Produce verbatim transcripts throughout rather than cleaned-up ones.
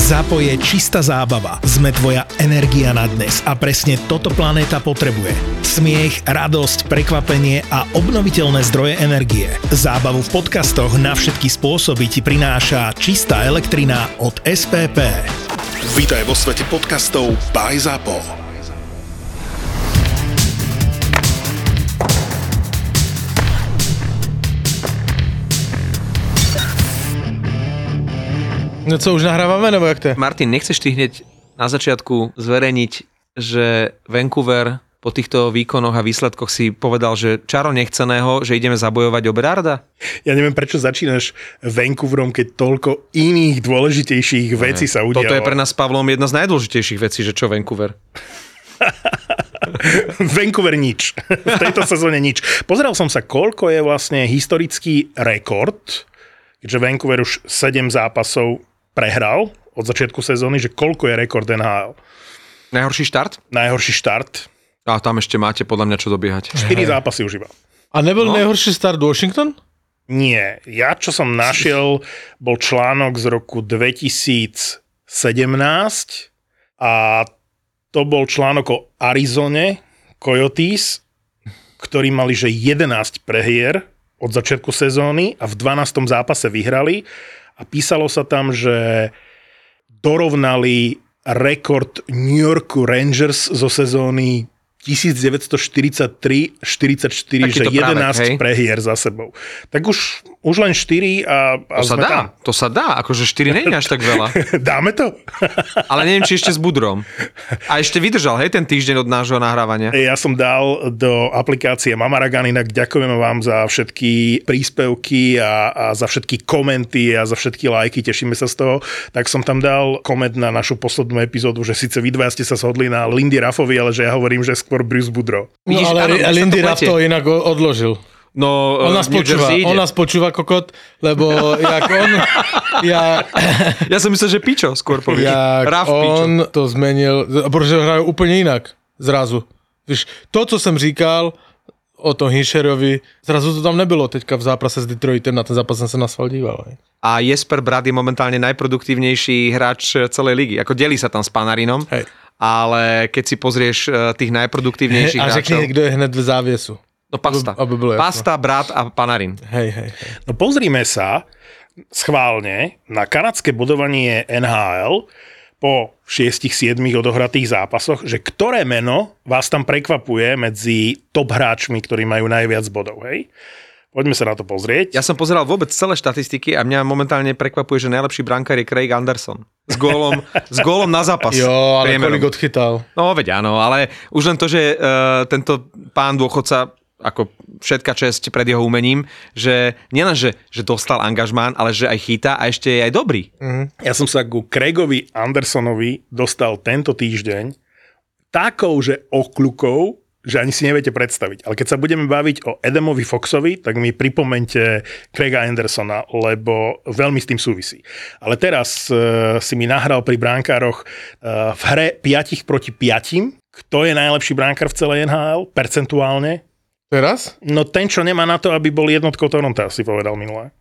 Zápo je čistá zábava. Sme tvoja energia na dnes a presne toto planéta potrebuje. Smiech, radosť, prekvapenie a obnoviteľné zdroje energie. Zábavu v podcastoch na všetky spôsoby ti prináša čistá elektrina od es pé pé. Vítaj vo svete podcastov by Zápo. No co, už nahrávame, nebo jak to je? Martin, nechceš ty hneď na začiatku zverejniť, že Vancouver po týchto výkonoch a výsledkoch si povedal, že čaro nechceného, že ideme zabojovať o Berarda? Ja neviem, prečo začínaš Vancouverom, keď toľko iných dôležitejších vecí sa udialo. Toto je pre nás s Pavlom jedna z najdôležitejších vecí, že čo Vancouver? Vancouver nič. V tejto sezóne nič. Pozeral som sa, koľko je vlastne historický rekord, keďže Vancouver už sedem zápasov prehral od začiatku sezóny, že koľko je rekord en há el. Najhorší štart? Najhorší štart. A tam ešte máte podľa mňa čo dobiehať. štyri zápasy už iba. A nebol No. najhorší start Washington? Nie. Ja, čo som našiel, bol článok z roku dvetisícsedemnásť a to bol článok o Arizone Coyotes, ktorí mali, že jedenásť prehier od začiatku sezóny a v dvanástom zápase vyhrali a písalo sa tam, že dorovnali rekord New Yorku Rangers zo sezóny devätnásťstoštyridsaťtri štyridsaťštyri, že jedenásť prehier za sebou. Tak už, už len štyri a, a To sa sme dá, tam. to sa dá, akože štyri nie je až tak veľa. Dáme to? Ale neviem, či ešte s Budrom. A ešte vydržal, hej, ten týždeň od nášho nahrávania. Ja som dal do aplikácie Mamaragan, inak ďakujeme vám za všetky príspevky a, a za všetky komenty a za všetky lajky, tešíme sa z toho. Tak som tam dal koment na našu poslednú epizódu, že síce vy dvaja ste sa shodli na Lindy Ruffovi, ale že ja hovorím, že skôr Bruce Boudreau. No Vidíš, ale áno, mne sa Lindy to Ruff pletie. to inak odložil. No, On nás New počúva, Jersey ide. on nás počúva kokot, lebo jak on, ja, Ja som myslel, že Pičo skôr povieš. jak Ruff Pičo. on to zmenil, protože hrajú úplne inak, zrazu. Víš, to, co jsem říkal o tom Hisherovi, zrazu to tam nebylo teďka v zápase s Detroitem, na ten zápas jsem se na sval díval. Ne? A Jesper Bratt je momentálne najproduktívnejší hráč celej ligy. Ako delí sa tam s Panarinom, Hej. ale keď si pozrieš eh, tých najproduktívnejších A hráčov... řekni, kdo je hned v závěsu. No Pasta. Aby bolo jasno. Pasta, Bratt a Panarin. Hej, hej, hej. No pozrime sa schválne na kanadské bodovanie en há el po šiestich siedmich odohratých zápasoch, že ktoré meno vás tam prekvapuje medzi top hráčmi, ktorí majú najviac bodov, hej? Poďme sa na to pozrieť. Ja som pozeral vôbec celé štatistiky a mňa momentálne prekvapuje, že najlepší brankár je Craig Anderson. S gólom, s gólom na zápas. Jo, ale priemerom. kolik odchytal. No veď áno, ale už len to, že uh, tento pán dôchodca, ako všetka česť pred jeho umením, že nielen, že, že dostal angažmán, ale že aj chytá a ešte je aj dobrý. Ja som sa ku Craigovi Andersonovi dostal tento týždeň takou, že okľukou, že ani si neviete predstaviť. Ale keď sa budeme baviť o Adamovi Foxovi, tak mi pripomeňte Craiga Andersona, lebo veľmi s tým súvisí. Ale teraz uh, si mi nahral pri bránkároch uh, v hre päť proti päť. Kto je najlepší bránkár v celej en há el? Percentuálne? Teraz? No ten, čo nemá na to, aby bol jednotkou Toronto, si povedal minulé.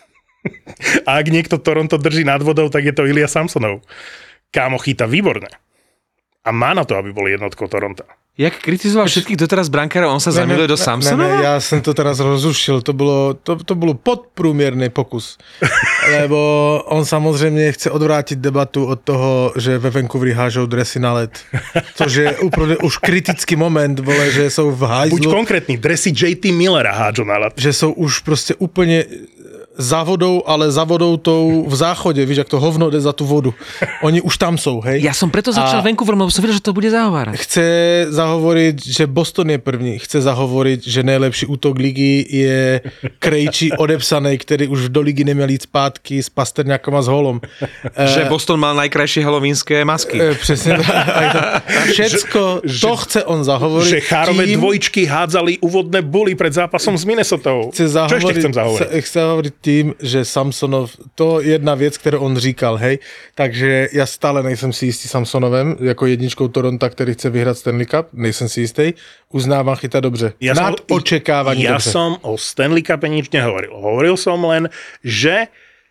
A ak niekto Toronto drží nad vodou, tak je to Ilya Samsonov. Kámo chytá výborne. A má na to, aby bol jednotkou Toronto. Jak kritizoval všetkých doteraz brankárov, on sa zamiluje do Samsonova? Ne, ne, ja som to teraz rozrušil, to bylo, to, to bylo podprůměrný pokus. Lebo on samozřejmě chce odvrátit debatu od toho, že ve Vancouveri hážou dresy na led. Což je úplně už kritický moment, vole, že jsou v hajzlu. Buď konkrétny, dresy džej té Millera hádžu na led. Že jsou už prostě úplně za vodou, ale za vodou tou v záchodě, víš, jak to hovno jde za tu vodu. Oni už tam jsou, hej. Ja som preto začal A- Vancouverom, lebo som vedel, že to bude zahovárať. Chce zahovoriť, že Boston je první. Chce zahovoriť, že nejlepší útok ligy je Krejčí odepsaný, který už do ligy neměl jít zpátky s Pasterňákom a s Holom. Že Boston mal najkrajšie halloweenské masky. E, přesně tak. Všecko, Že- to chce on zahovoriť. Že Chárové tým- dvojčky hádzali úvodné buly pred zápasom s Minnesotou. Chce Čo ešte zahovoriť, chcem zahovoriť? chce, chce hovoriť tým, že Samsonov, to je jedna věc, kterou on říkal, hej, takže já stále nejsem si jistý Samsonovem, jako jedničkou Toronto, který chce vyhrát Stanley Cup, nejsem si jistý, uznávám, chytá dobře. Ja Nad som, očekávání ja dobře. som o Stanley Cupe nič nehovoril. Hovoril som len, že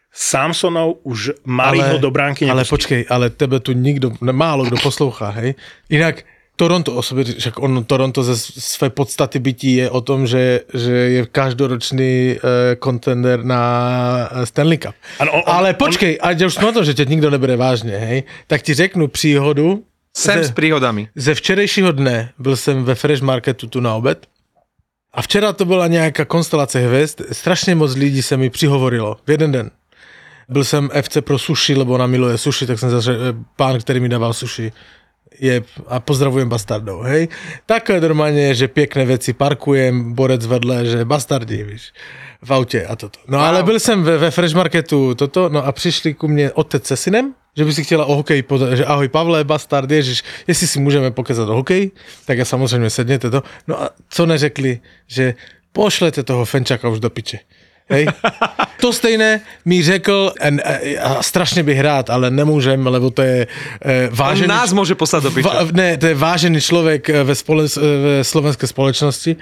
Samsonov už mali ho do bránky nepustili. Ale počkej, ale tebe tu nikto, málo kdo poslouchá, hej? Inak Toronto o sobě, však on, Toronto ze své podstaty bytí je o tom, že, že je každoročný kontender uh, na Stanley Cup. Ano, on, ale on, počkej, on... ať už na to, že tě nikdo nebere vážně, hej, tak ti řeknu příhodu. Sem ze, s príhodami. Ze včerejšího dne byl jsem ve Fresh Marketu tu na obed a včera to byla nějaká konstelace hvězd. Strašně moc lidí se mi přihovorilo v jeden den. Byl jsem F C pro sushi, lebo ona miluje sushi, tak jsem zase pán, který mi dával sushi. Je, a pozdravujem bastardov, hej. Také normálne, že pěkné věci parkujem, borec vedle, že bastardi, víš, v autě a toto. No wow. Ale byl jsem ve, ve Fresh Marketu toto, no a přišli ku mně otec se synem, že by si chtěla o hokeji, že ahoj Pavle, bastard, ježiš, jestli si můžeme pokezat o hokeji, tak já samozřejmě sedněte to. No a co neřekli, že pošlete toho Fenčaka už do piče. Hej. To stejné mi řekl, a strašně bych rád, ale nemůžem, lebo to je e, vážený... On nás může poslat do piče. Va, ne, to je vážený člověk ve, spole, ve slovenské společnosti,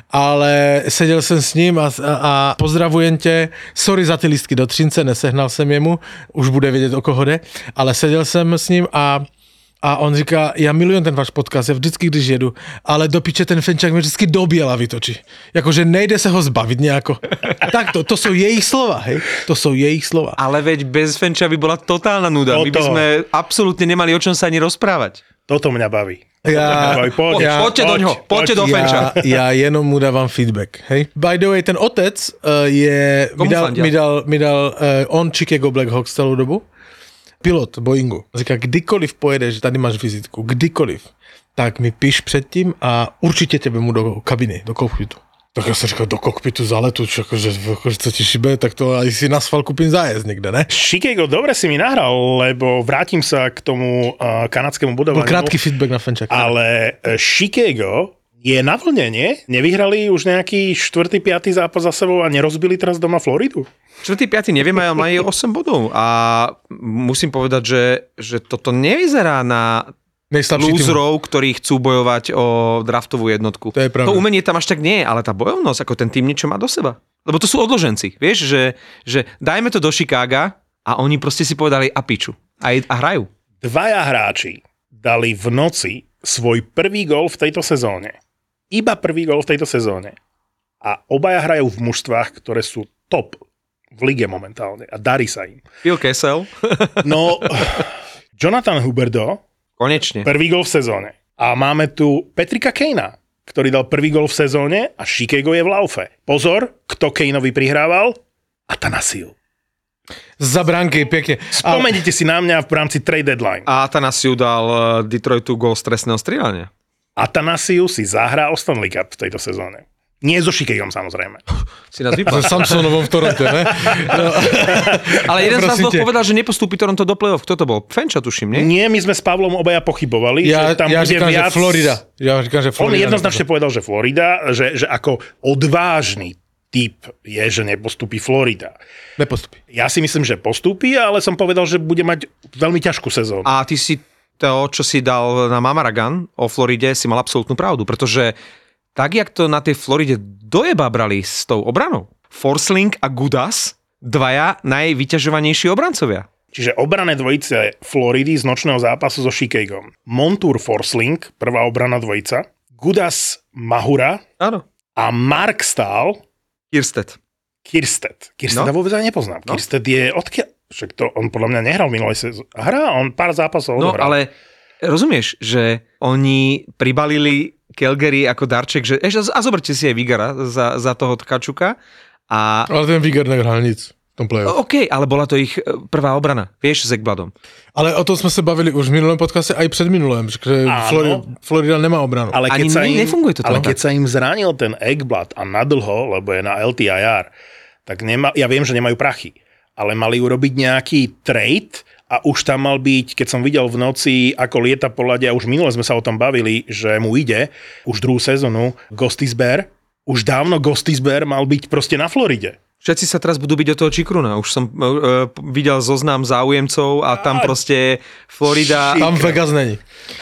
ale seděl jsem s ním a, a pozdravujem tě, sorry za ty lístky do Třince, nesehnal jsem jemu, už bude vědět, o koho jde, ale seděl jsem s ním a A on říká, já milujem ten váš podcast, já vždycky, když jedu, ale do piče ten Fenčák mě vždycky do běla vytočí. Jakože nejde se ho zbavit nějako. Tak to, to jsou jejich slova, hej? To jsou jejich slova. Ale veď bez Fenča by bola totálna nuda. My by sme absolútne nemali o čom sa ani rozprávať. Toto mňa baví. Já, poď, já, poďte do ňoho, poďte do Fenča. Já, já jenom mu dávám feedback, hej? By the way, ten otec uh, je, mi dal, mi dal, mi dal uh, on Chicago Blackhawks celou dobu. Pilot Boeingu. Říká, kdykoliv pojedeš, tady máš vizitku, kdykoliv, tak mi píš předtím a určitě tebe mu do kabiny, do kokpitu. Tak já jsem říkal, do kokpitu za letu, že co ti šibe, tak to aj si na sval kúpim zájezd někde, ne? Chicago, dobre si mi nahral, lebo vrátim sa k tomu uh, kanadskému budovaniu. Bol krátky feedback na Fenčaka. Ale Chicago je na vlne, nie? Nevyhrali už nejaký štvrtý, piatý zápas za sebou a nerozbili teraz doma Floridu? Čtvrtý, piatý nevieme, ale majú osem bodov a musím povedať, že, že toto nevyzerá na lúzrov, ktorí chcú bojovať o draftovú jednotku. To je pravda. To umenie tam až tak nie je, ale tá bojovnosť, ako ten tým niečo má do seba. Lebo to sú odloženci, vieš, že, že dajme to do Chicaga a oni proste si povedali a piču a, a hrajú. Dvaja hráči dali v noci svoj prvý gól v tejto sezóne. Iba prvý gól v tejto sezóne. A obaja hrajú v mužstvách, ktoré sú top v lige momentálne a darí sa im. Phil Kessel. No, Jonathan Huberdeau. Konečne. Prvý gól v sezóne. A máme tu Patricka Kanea, ktorý dal prvý gól v sezóne a Chicago je v laufe. Pozor, kto Kaneovi prihrával? Atanasiu. Za bránky, pekne. Spomeňte si na mňa v rámci trade deadline. A Atanasiu dal Detroitu gól z trestného strieľania. Atanasiu si zahrá o Stanley Cup v tejto sezóne. Nie so Chicagom, samozrejme. Si nás vypadá. So Samsonovom v Toronte, ne? No. Ale jeden z nás povedal, že nepostúpi Toronto do play-off. Kto to bol? Fenča, tuším, nie? Nie, my sme s Pavlom obaja pochybovali, ja, že tam ja bude říkám, viac... Že Florida. Ja říkám, že Florida. On jednoznačne povedal, že Florida, že, že ako odvážny typ je, že nepostúpi Florida. Nepostúpi. Ja si myslím, že postúpi, ale som povedal, že bude mať veľmi ťažkú sezónu. A ty si to, čo si dal na Mamaragan o Floride, si mal absolútnu pravdu, pretože tak, jak to na tej Floride dojeba brali s tou obranou. Forsling a Gudas, dvaja najvyťažovanejší obrancovia. Čiže obrané dvojice Floridy z nočného zápasu so Chicagom. Montour Forsling, prvá obrana dvojica. Gudas Mahura. Áno. A Mark Stahl. Kirsted. Kirsted. Kirsted no. vôbec aj nepoznám. No. Kirsted je odkiaľ... Však to on podľa mňa nehral v minulej sezóne. Hrá, on pár zápasov No, odohral. ale rozumieš, že oni pribalili Calgary ako darček, že ešte, a zoberte si aj Vigara za, za toho Tkačuka. A... Ale ten Vigar nehral nic v tom play-off. OK, ale bola to ich prvá obrana, vieš, s Ekbladom. Ale o tom sme sa bavili už v minulém podcaste, aj pred minulém, že Florida, Florida nemá obranu. Ale keď, Ani sa im, nefunguje to ale tak. keď sa im zranil ten Ekblad a nadlho, lebo je na el té í er, tak nema, ja viem, že nemajú prachy, ale mali urobiť nejaký trade a už tam mal byť, keď som videl v noci, ako lieta po ľade, a už minule sme sa o tom bavili, že mu ide už druhú sezónu Gostisbehere. Už dávno Gostisbehere mal byť proste na Floride. Všetci sa teraz budú byť do toho Čikruna. Už som uh, videl zoznam záujemcov a tam proste Florida... Tam Vegas není.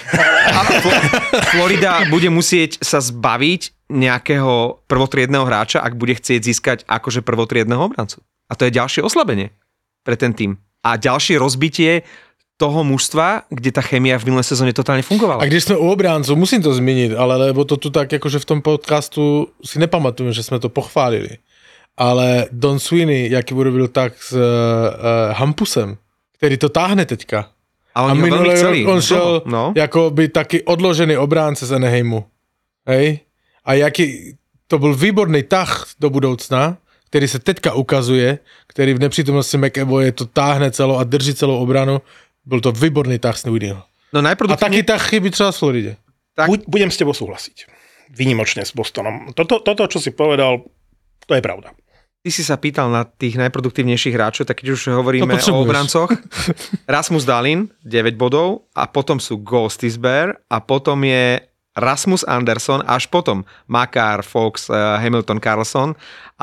A Fl- Florida bude musieť sa zbaviť nejakého prvotriedného hráča, ak bude chcieť získať akože prvotriedného obrancu. A to je ďalšie oslabenie pre ten tým. A ďalšie rozbitie toho mužstva, kde tá chémia v minulé sezóne totálne fungovala. A když sme u obráncov, musím to zmeniť, ale lebo to tu tak, akože v tom podcastu si nepamatujem, že sme to pochválili. Ale Don Sweeney, jaký urobil tak s uh, Hampusem, ktorý to táhne teďka. A, a minulý rok on šiel no. ako by taký odložený obránce z Anaheimu. Hej? A jaký, to bol výborný tah do budoucna, ktorý sa teďka ukazuje, ktorý v nepřítomnosti McAvoye to táhne celou a drží celou obranu. Bol to výborný tah Sweeneyho. No a taký tah chybí třeba v Floride. Tak... Budem s tebou súhlasiť. Výnimočne s Bostonom. Toto, toto, čo si povedal, to je pravda. Ty si sa pýtal na tých najproduktívnejších hráčov, tak keď už hovoríme o obrancoch. Rasmus Dahlin, deväť bodov, a potom sú Gostisbehere, a potom je Rasmus Anderson, až potom Makar, Fox, Hamilton, Carlson,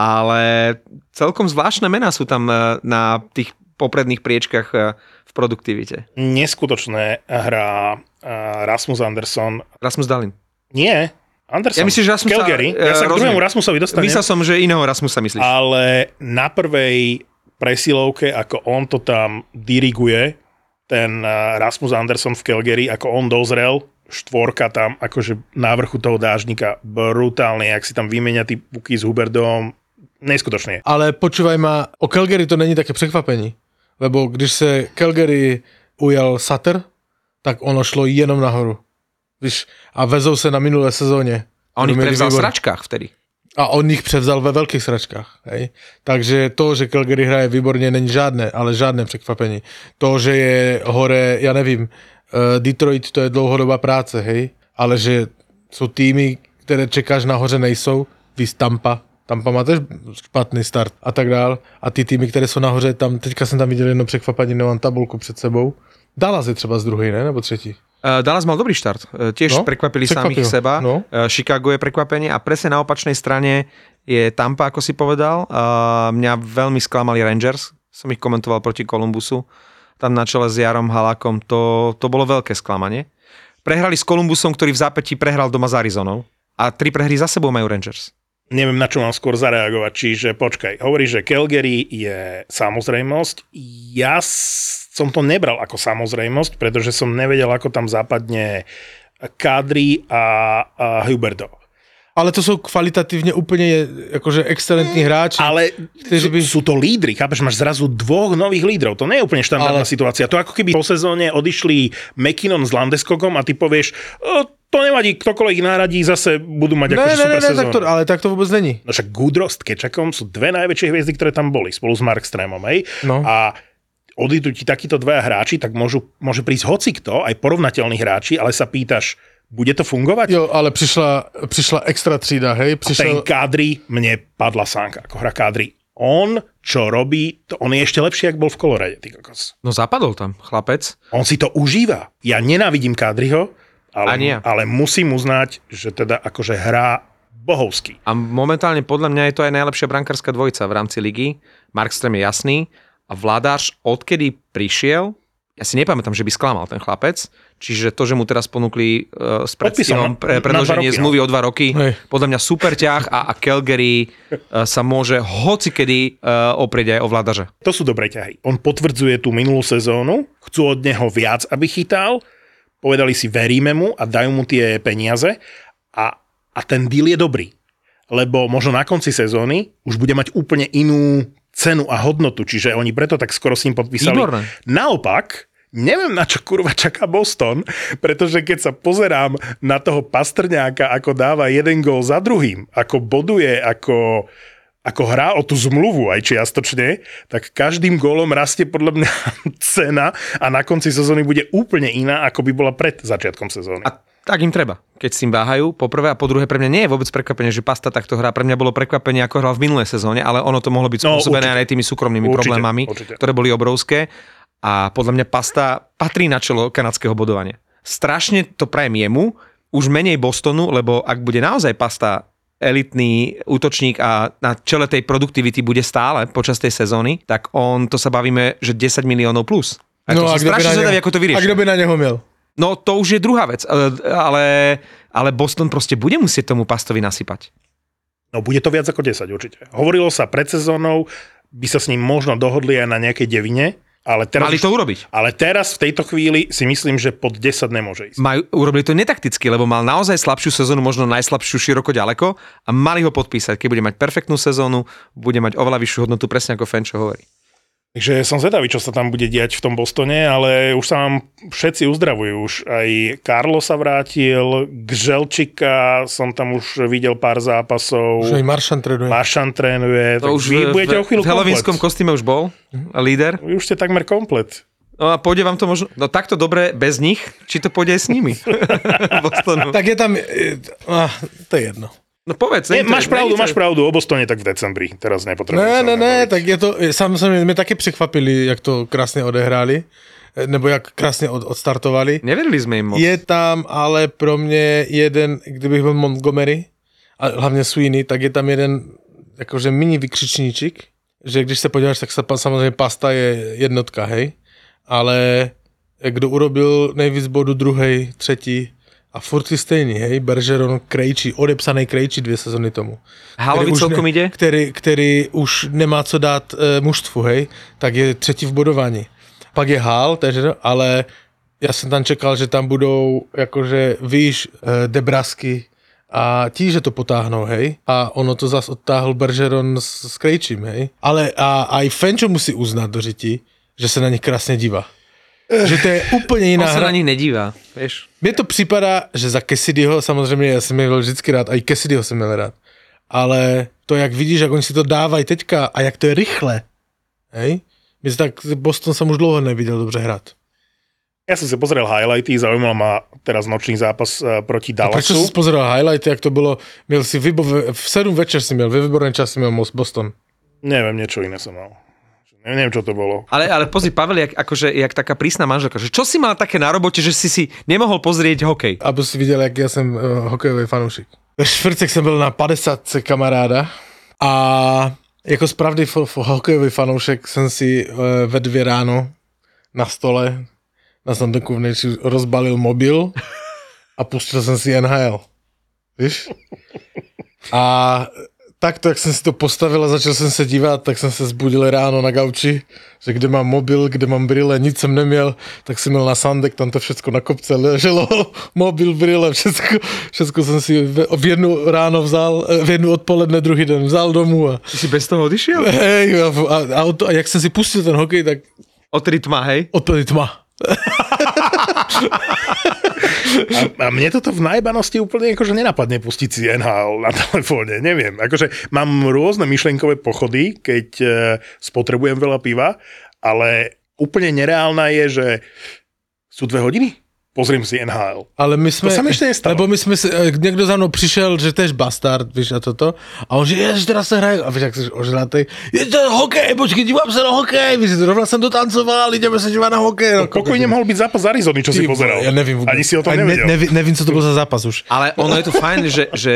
ale celkom zvláštne mená sú tam na tých popredných priečkach v produktivite. Neskutočné hrá Rasmus Anderson. Rasmus Dahlin. Nie, Anderson. Ja myslím, že Rasmusa... Calgary. Ja sa k druhému Rasmusovi dostanem. Myslel som, že iného Rasmusa myslíš. Ale na prvej presilovke, ako on to tam diriguje, ten Rasmus Anderson v Calgary, ako on dozrel, štvorka tam, akože na vrchu toho dážnika, brutálne, jak si tam vymenia tí puky s Huberdom, neskutočne. Ale počúvaj ma, o Calgary to není také překvapení. Lebo když se Calgary ujal Sutter, tak ono šlo jenom nahoru. Víš, a vezou se na minulé sezóně. A on ich prevzal v sračkách vtedy. A on ich převzal ve velkých sračkách. Hej. Takže to, že Calgary hraje výborně, není žádné, ale žádné překvapení. To, že je hore, já nevím, Detroit, to je dlouhodobá práce, hej, ale že jsou týmy, které čekáš nahoře, nejsou, víš, Tampa, Tampa má tež špatný start a tak dál. A ty týmy, které jsou nahoře, tam, teďka jsem tam viděl jedno překvapení, nemám tabulku před sebou. Dallas je třeba z druhej, ne? Nebo třetí? Uh, Dallas mal dobrý štart. Uh, tiež no, prekvapili samých seba. No. Uh, Chicago je prekvapenie a presne na opačnej strane je Tampa, ako si povedal. Uh, mňa veľmi sklamali Rangers. Som ich komentoval proti Columbusu. Tam na čele s Jarom Halákom. To, to bolo veľké sklamanie. Prehrali s Columbusom, ktorý v zápätí prehral doma s Arizonou. A tri prehry za sebou majú Rangers. Neviem, na čo mám skôr zareagovať. Čiže počkaj, hovoríš, že Calgary je samozrejmosť. Ja som to nebral ako samozrejmosť, pretože som nevedel, ako tam zapadne Kadri a, a Huberdo. Ale to sú kvalitatívne úplne akože excelentní hráči. Ale sú, by... sú to lídry, chápeš, máš zrazu dvoch nových lídrov. To nie je úplne štandardná ale... situácia. To ako keby po sezóne odišli McKinnon s Landeskogom a ty povieš, to nevadí, ktokoľvek ich náradí, zase budú mať akože super sezónu. Tak to, ale tak to vôbec není. No však Goodrow s Kečakom sú dve najväčšie hviezdy, ktoré tam boli, spolu s Markströmom, hej? No. A odídu ti takíto dvaja hráči, tak môžu, môže prísť hocikto, aj porovnateľní hráči, ale sa pýtaš, bude to fungovať? Jo, ale prišla, prišla extra třída, hej? A ten Prišiel... Kadri, mne padla sánka, ako hra Kadri. On, čo robí, to on je ešte lepší, ako bol v Colorade, ty kokos. No zapadol tam, chlapec. On si to užíva. Ja nenávidím Kadriho, ale, ale musím uznať, že teda akože hrá bohovský. A momentálne podľa mňa je to aj najlepšia brankárska dvojica v rámci ligy. Markström je jasný a Vladáš, odkedy prišiel, ja si nepamätám, že by sklamal ten chlapec, čiže to, že mu teraz ponúkli uh, s predstihom pre, predĺženie zmluvy no. o dva roky, Hej. podľa mňa super ťah a, a Calgary uh, sa môže hocikedy uh, oprieť aj o Vladaža. To sú dobré ťahy. On potvrdzuje tú minulú sezónu, chcú od neho viac, aby chytal, povedali si, veríme mu a dajú mu tie peniaze a, a ten deal je dobrý. Lebo možno na konci sezóny už bude mať úplne inú cenu a hodnotu, čiže oni preto tak skoro s ním podpísali. Výborné. Naopak, neviem, na čo kurva čaká Boston, pretože keď sa pozerám na toho Pastrňáka, ako dáva jeden gól za druhým, ako boduje, ako, ako hrá o tú zmluvu aj čiastočne, tak každým gólom rastie podľa mňa cena a na konci sezóny bude úplne iná, ako by bola pred začiatkom sezóny. A tak im treba, keď s tým váhajú. Po prvé a po druhé, pre mňa nie je vôbec prekvapenie, že Pasta takto hrá. Pre mňa bolo prekvapenie, ako hral v minulej sezóne, ale ono to mohlo byť spôsobené no, aj tými súkromnými určite, problémami, určite. Ktoré boli obrovské. A podľa mňa Pasta patrí na čelo kanadského bodovania. Strašne to prajem jemu, už menej Bostonu, lebo ak bude naozaj Pasta elitný útočník a na čele tej produktivity bude stále počas tej sezóny, tak on, to sa bavíme, že desať miliónov plus. A no, to som strašne zvedavý, ako to vyrieši. A kto by na neho miel? No to už je druhá vec, ale, ale Boston proste bude musieť tomu Pastovi nasypať. No bude to viac ako desať určite. Hovorilo sa pred sezónou, by sa s ním možno dohodli aj na nejakej devine. Ale teraz, Mali to urobiť. Ale teraz v tejto chvíli si myslím, že pod desať nemôže ísť. Majú, urobili to netakticky, lebo mal naozaj slabšiu sezónu, možno najslabšiu široko ďaleko a mali ho podpísať. Keď bude mať perfektnú sezónu, bude mať oveľa vyššiu hodnotu, presne ako Fenčo hovorí. Takže som zvedavý, čo sa tam bude diať v tom Bostone, ale už sa vám všetci uzdravujú. Už aj Carlo sa vrátil, Gželčika som tam už videl pár zápasov. Už aj Maršan trénuje. Maršan trénuje. To tak už vy v, budete o chvíľu v helovínskom komplet. kostýme už bol líder. Vy už ste takmer komplet. No a pôjde vám to možno... No takto dobre bez nich, či to pôjde aj s nimi? Bostonu. Tak je tam... Ah, to je jedno. No povedz. Nie, to- máš pravdu, to- máš pravdu, o Bostone tak v decembri. Teraz nepotrebujem. Ne, sa ne, o tom ne, baviť. tak je to, samozřejmě mě taky překvapili, jak to krásně odehráli, nebo jak krásně od, odstartovali. Neverili sme im moc. Je tam ale pro mě jeden, kdybych byl Montgomery, a hlavně Sweeney, tak je tam jeden jakože mini vykřičníček, že když se podíváš, tak sa, samozřejmě Pasta je jednotka, hej, ale kdo urobil nejvíc bodu, druhej, třetí, a furt si stejný, hej, Bergeron, Krejčí, odepsaný Krejčí dvě sezony tomu. Halovi už celkom ne, ide? Který, který už nemá co dát e, mužstvu, hej, tak je třetí v bodování. Pak je Hal, takže, ale já jsem tam čekal, že tam budou jakože, víš, e, Debrasky a tí, že to potáhnou, hej. A ono to zas odtáhl Bergeron s, s Krejčím, hej. Ale a aj Fenčo musí uznat do řiti, že se na nich krásně dívá. Že to je úplně jiná On sa hra. na nich nedívá, vieš. Mně to připadá, že za Cassidyho, samozřejmě já jsem měl vždycky rád, a i Cassidyho jsem měl rád, ale to, jak vidíš, jak oni si to dávají teďka a jak to je rychle, hej? Mně se tak Boston jsem už dlouho neviděl dobře hrát. Ja som si pozrel highlighty, zaujímal ma teraz nočný zápas uh, proti A proč Dallasu. jsi pozeral highlighty, jak to bylo, měl si vybo, v sedm večer si měl, ve výborný čas si měl Boston. Neviem, niečo iné som mal. Neviem, čo to bolo. Ale, ale pozri, Pavel, jak, akože, jak taká prísna manželka, že čo si mal také na robote, že si si nemohol pozrieť hokej? Aby si viděl, jak já jsem uh, hokejový fanoušek. Ve čtvrtek jsem byl na padesátce kamaráda a jako spravný fo- fo- hokejový fanoušek jsem si uh, ve dvě ráno na stole na sanduku vnitř rozbalil mobil a pustil jsem si N H L. Víš? A takto, jak jsem si to postavil a začal jsem se dívat, tak jsem se zbudil ráno na gauči, že kde mám mobil, kde mám brýle, nic jsem neměl, tak jsem měl na sandek, tam to všecko na kopce leželo, mobil, brýle, všecko, všecko jsem si v, v jednu ráno vzal, v jednu odpoledne, druhý den vzal domů a, Ty si bez toho odišiel? hej, a, a, a, a jak jsem si pustil ten hokej, tak Odtedy tma, hej? odtedy tma. A, a mne toto v najbanosti úplne akože nenapadne pustiť si N H L na telefóne, neviem. Akože mám rôzne myšlenkové pochody, keď e, spotrebujem veľa piva, ale úplne nereálna je, že sú dve hodiny? Pozriem si N H L. Ale my jsme, To sa mi ešte nestalo. lebo my jsme si, eh, někdo za mnou přišel, že tež bastard, víš, a toto. A on že, jež, teda se hraje, a víš, jak jsi ožratej, je to hokej, počkej, dívám se na hokej, víš, rovna jsem dotancoval, jdeme se dívat na hokej. No, Pokojne mohol byť zápas z Arizony, čo si Ty, pozeral. Ja nevím vôbec. Ani si o tom Ani nevedel. Ne, nevím, nevím, co to bol za zápas už. Ale ono je to fajn, že, že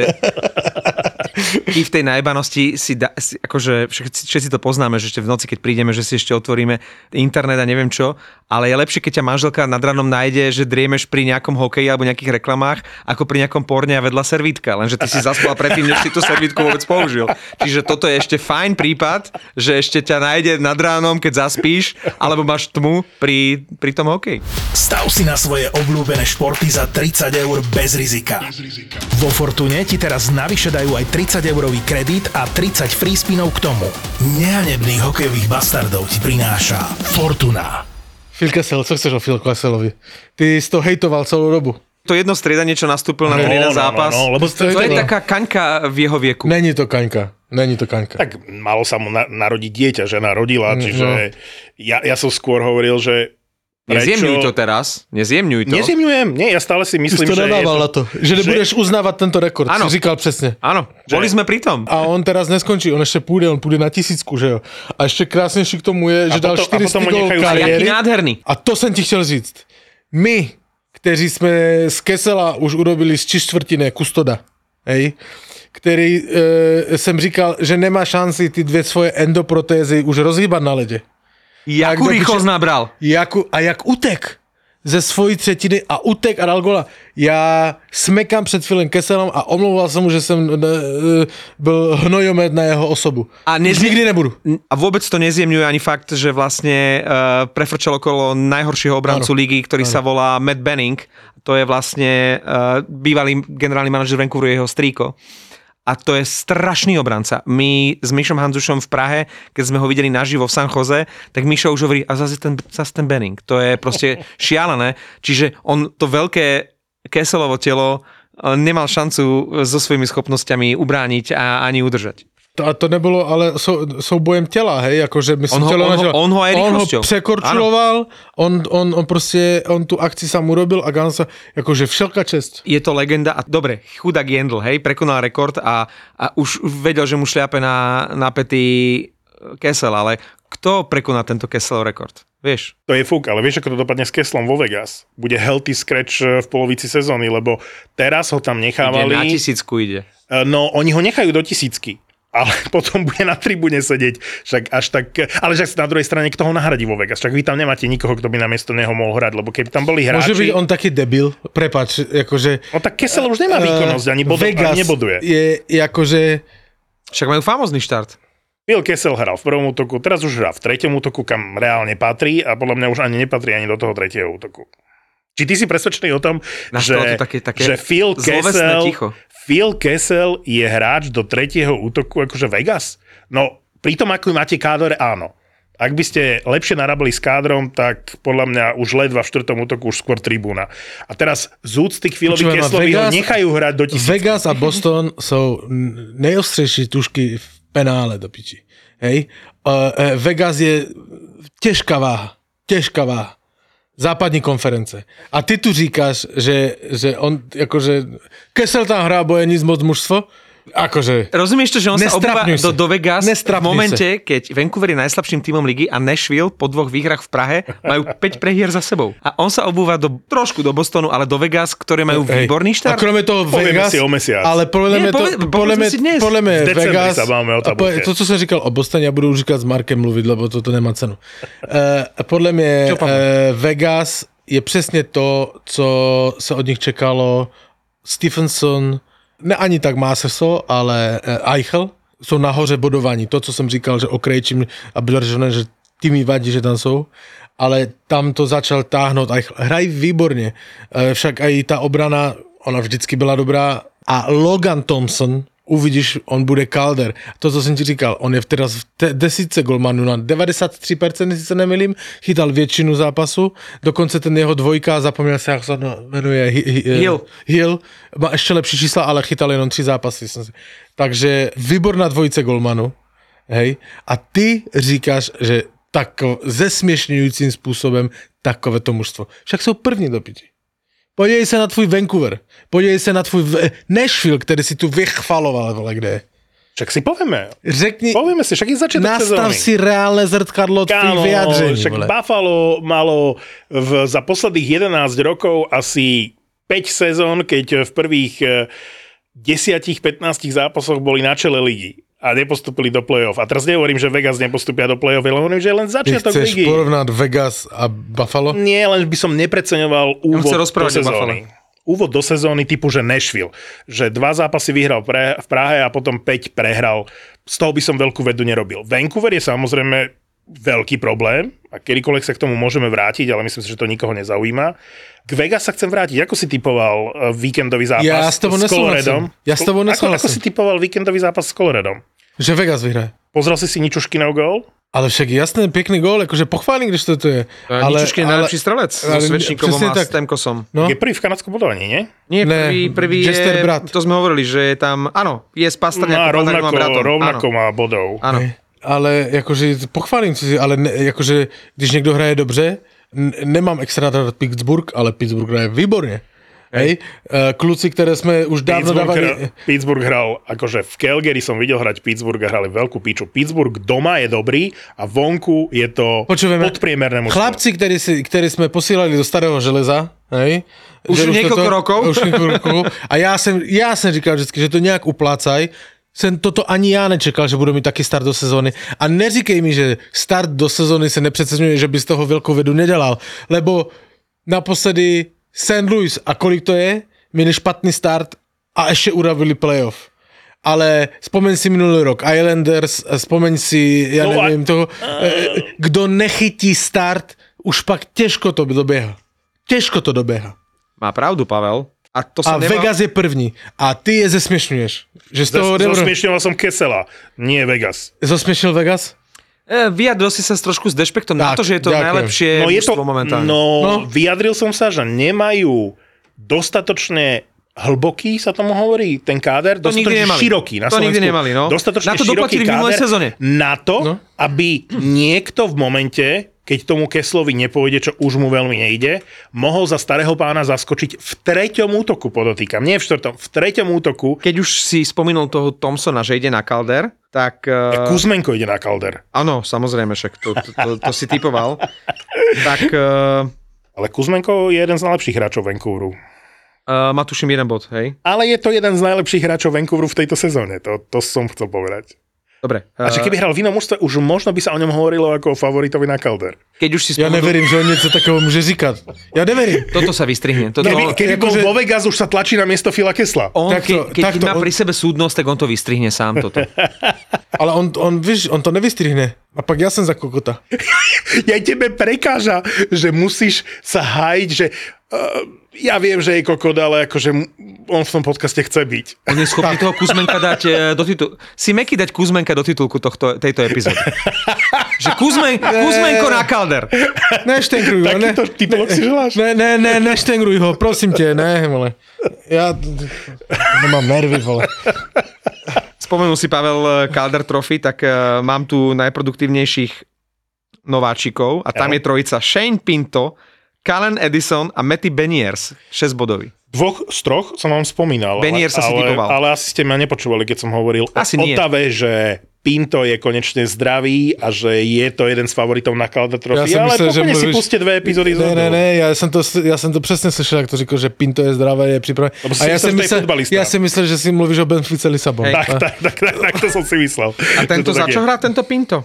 ty v tej najbanosti si, da, si akože všetci, všetci to poznáme, že ešte v noci, keď prídeme, že si ešte otvoríme internet a neviem čo, ale je lepšie, keď ťa manželka nad ranom nájde, že driemeš pri nejakom hokeji alebo nejakých reklamách, ako pri nejakom porne a vedľa servítka, lenže ty si zaspal predtým, než si tú servítku vôbec použil. Čiže toto je ešte fajn prípad, že ešte ťa nájde nad ránom, keď zaspíš, alebo máš tmu pri, pri tom hokeji. Stav si na svoje obľúbené športy za tridsať eur bez rizika. Vo Fortune ti teraz navyše dajú aj tridsať eurový kredit a tridsať free spinov k tomu. Nehanebných hokejových bastardov ti prináša Fortuna. Phil Kessel, co chceš o Phil Kesselovi? Ty si to hejtoval celou dobu. To jedno striedanie, čo nastúpil na ten jeden zápas, no, lebo to, to je taká kaňka v jeho vieku. Není to kaňka. Není to kaňka. Tak malo sa mu na, narodiť dieťa, žena rodila, čiže no. ja, ja som skôr hovoril, že Nezjemňuj to teraz, nezjemňuj to. Nezjemňujem, nie, ja stále si Ty myslím, si to že... nadával je na to, že nebudeš uznávať tento rekord, Áno. si říkal přesně. Áno, boli sme pri tom. A on teraz neskončí, on ešte půjde, on půjde na tisícku, že jo. A ešte krásnejší k tomu je, že A dal potom- a štyristo potom ho gól nechajú- A jaký kariéry. nádherný. A to jsem ti chtěl říct. My, kteří jsme z Kessela už urobili z čtvrtiny kustoda, hej, který e, jsem říkal, že nemá šanci ty dvě svoje endoprotézy už rozhýbat na ledě. Jakú do rýchlosť piče- nabral. Jaku, a jak utek. ze svojí třetiny a utek a dal gola. Já smekám před Philem Kesselom a omlouval jsem mu, že jsem ne, byl hnojomet na jeho osobu. A nez... Už nikdy nebudu. A vôbec to nezjemňuje ani fakt, že vlastne uh, prefrčal okolo najhoršieho obrancu ano. ligy, ktorý ano. sa volá Matt Benning. To je vlastne uh, bývalý generálny manažer Vancouveru, jeho strýko. A to je strašný obranca. My s Mišom Hanzušom v Prahe, keď sme ho videli naživo v San Jose, tak Mišo už hovorí, a zase ten, zase ten Benning. To je proste šialené. Čiže on to veľké Kesselovo telo nemal šancu so svojimi schopnosťami ubrániť a ani udržať. To, a to nebylo ale sou, soubojem těla, hej, jakože myslím, on ho, tělo on, ho, on ho aj on ho rýchlosťou. překorčuloval, on, on, on prostě, on tu akci sám urobil a Gansa, jakože všelka čest. Je to legenda a dobre, chudák Jendl, hej, prekonal rekord a, a už vedel, že mu šliape na, na pety Kessel, ale kto prekoná tento Kesselov rekord? Vieš? To je fuk, ale vieš, ako to dopadne s Kesselom vo Vegas? Bude healthy scratch v polovici sezóny, lebo teraz ho tam nechávali... Ide na tisícku ide. No, oni ho nechajú do tisícky. Ale potom bude na tribúne sedieť, však až tak, ale však na druhej strane, kto ho nahradí vo Vegas, však vy tam nemáte nikoho, kto by namiesto neho mohol hrať, lebo keby tam boli hráči... Môže byť on taký debil, prepáč, akože... No tak Kessel už nemá výkonnosť, ani, bodo, ani neboduje. je, je akože... Však majú famózny štart. Phil Kessel hral v prvom útoku, teraz už hrá v treťom útoku, kam reálne patrí a podľa mňa už ani nepatrí ani do toho tretieho útoku. Či ty si presvedčený o tom, že, také, také že Phil Kessel... Phil Kessel je hráč do tretieho útoku akože Vegas? No, pri tom, ako máte kádor, áno. Ak by ste lepšie narábali s kádrom, tak podľa mňa už ledva v štvrtom útoku už skôr tribúna. A teraz z úcty k Philovi Kesselovi ho nechajú hrať do tisíc. Vegas a Boston sú nejostřejší tušky v penále do piči. Hej? Uh, uh, Vegas je těžká váha. Těžká váha. Západní konference. A ty tu říkáš, že, že on, akože, Kessel tam hrá, bo je nic moc mužstvo? Akože... Rozumieš to, že on sa obúva do, do Vegas Nestrapňuj v momente, sa. keď Vancouver je najslabším tímom ligy a Nashville po dvoch výhrách v Prahe majú päť prehier za sebou. A on sa obúva do, trošku do Bostonu, ale do Vegas, ktoré majú Hej. výborný štart. A kromě toho Povieme Vegas... si o mesiac. Ale podľa mňa to... Podľa mňa, podľa mňa Vegas... A po, to, co som říkal o Bostone, ja budú říkať s Markem mluviť, lebo toto nemá cenu. Uh, podľa mňa uh, Vegas je přesně to, co se od nich čekalo. Stephenson, ne ani tak Masterso, ale Eichel jsou nahoře bodování. To, co jsem říkal, že Okrejčím a bylo řečeno, že ty mi vadí, že tam jsou, ale tam to začal táhnout Eichel. Hrají výborně, však i ta obrana, ona vždycky byla dobrá a Logan Thompson, uvidíš, on bude Calder. To, co jsem ti říkal, on je teraz v te- desítce golmanů na devadesát tři procent, jestli se nemýlím, chytal většinu zápasu, dokonce ten jeho dvojka, zapomněl se, jak se jmenuje, hi- hi- Hill. Hill, má ještě lepší čísla, ale chytal jenom tři zápasy. Takže výborná dvojice golmanů, hej, a ty říkáš, že tak zesměšňujícím způsobem takovéto mužstvo. Však jsou první do piči. Podívej se na tvůj Vancouver. Podívej se na tvůj Nashville, který si tu vychvaloval, vole, kde je. Však si povieme. Řekni, povieme si, však je začiatok sezóny. Nastav si reálne zrkadlo tvých vyjadření. Však vole. Buffalo malo v, za posledných jedenásť rokov asi päť sezón, keď v prvých desať pätnásť zápasoch boli na čele ligy a nepostupili do play-off. A teraz nehovorím, že Vegas nepostupia do play-off, ale hovorím, že je len začiatok ligy. Ty chceš ligy. porovnať Vegas a Buffalo? Nie, len by som nepreceňoval úvod do sezóny. Úvod do sezóny typu, že Nashville. Že dva zápasy vyhral pre, v Prahe a potom päť prehral. Z toho by som veľkú vedu nerobil. Vancouver je samozrejme veľký problém a kedykoľvek sa k tomu môžeme vrátiť, ale myslím si, že to nikoho nezaujíma. K Vegas sa chcem vrátiť. Ako si typoval víkendový zápas ja s, s Coloredom? Ja s tebou nesúhlasím. Ako, ako si typoval víkendový zápas s Coloredom? Že Vegas vyhraje. Pozrel si si Ničuškinov gól? Ale však jasný, pekný gól, akože pochválim, když to tu je. Ale, Ničuškin je najlepší strelec so Svečníkovom a tak, Stemkosom. No? Je prvý v kanadskom bodovaní, nie? Nie, prvý, prvý je, brat. To sme hovorili, že je tam, áno, je z Pastrňákom, rovnako, má bratom. Rovnako áno. Má bodov. Áno. Ale akože pochválim si, ale ne, akože, když niekto hraje dobře, n- nemám extra rád Pittsburgh, ale Pittsburgh hraje výborne. Hej, kluci, ktoré sme už dávno Pittsburgh dávali... Hra, Pittsburgh hral, akože v Calgary som videl hrať Pittsburgh a hrali veľkú píču. Pittsburgh doma je dobrý a vonku je to Počujeme, podpriemerné mužstvo. Chlapci, ktorí, si, ktorí sme posílali do starého železa, hej, už niekoľko to, rokov. Už niekoľko rokov. A ja som, ja som říkal vždy, že to nejak uplácaj. Jsem toto ani já nečekal, že budu mít taky start do sezóny. A neříkej mi, že start do sezóny se nepřeceňuje, že by z toho velkou vedu nedělal. Lebo naposledy Saint Louis a kolik to je? Měli špatný start a ještě uravili playoff. Ale spomeň si minulý rok Islanders, spomeň si, ja no neviem a... toho, kdo nechytí start, už pak těžko to doběha. Těžko to doběha. Má pravdu, Pavel. A, to a sa nemal... Vegas je první. A ty je zesmiešňuješ. Že z toho Zas, zosmiešňoval som Kessela, nie Vegas. Zosmiešňil Vegas? E, vyjadril si sa trošku s dešpektom tak, na to, že je to ďakujem. Najlepšie no je to, momentálne. No, no, vyjadril som sa, že nemajú dostatočne hlboký, sa tomu hovorí, ten káder, to dostatočne široký. Na to Slovensku, nikdy nemali, no. Dostatočne na to široký káder sezóne. na to, no. aby niekto v momente, keď tomu Kesslovi nepôjde, čo už mu veľmi nejde, mohol za starého pána zaskočiť v treťom útoku, podotýkam. Nie v štvrtom, v treťom útoku. Keď už si spomenul toho Thompsona, že ide na Calder, tak... Uh... Kuzmenko ide na Calder. Áno, samozrejme, však to, to, to, to si typoval. tak... Uh... Ale Kuzmenko je jeden z najlepších hráčov Vancouveru. Uh, má tuším jeden bod, hej? Ale je to jeden z najlepších hráčov Vancouveru v tejto sezóne, to, to som chcel povedať. Dobre. Uh... A že keby hral v inom mužstve, už možno by sa o ňom hovorilo ako o favoritovi na Calder. Keď už si spomenul... Ja neverím, že on niečo takého môže říkať. Ja neverím. Toto sa vystrihne. Toto... Keby, keby bol že... vo Vegas, už sa tlačí na miesto Phila Kessla. On, takto, ke, keď takto, má on... pri sebe súdnosť, tak on to vystrihne sám toto. Ale on, on, víš, on to nevystrihne. A pak ja som za kokota. Ja tebe prekáža, že musíš sa hájiť, že... Uh, ja viem, že je kokot, ale akože on v tom podcaste chce byť. On je schopný toho Kuzmenka dať do titulku. Si Meky dať Kuzmenka do titulku tohto, tejto epizódy. Že Kuzmen, Kuzmenko na Calder. Neštengruj ho. Takýto ne, titulok si želáš? Ne, ne, ne, neštengruj ho, prosím te, ne, vole. Ja nemám nervy, vole. Spomenul si Pavel Calder Trophy, tak uh, mám tu najproduktívnejších nováčikov a tam ja. je trojica Shane Pinto, Calen Edison a Matty Beniers, šesť bodový. Dvoch z troch som vám spomínal. Beniers sa si typoval. Ale asi ste ma nepočúvali, keď som hovoril asi o Otave, že Pinto je konečne zdravý a že je to jeden z favoritov na Calder Trophy. Ja ale pokojne si puste dve epizódy. Ne, ne, ne, ja som to, ja som to presne slyšel, jak to říkal, že Pinto je zdravé, je pripravený. A ja si, myslel, ja si myslel, že si mluvíš o Benfice Lisabon. Tak, tak, tak, tak, tak to som si myslel. A tento za čo hrá tento Pinto?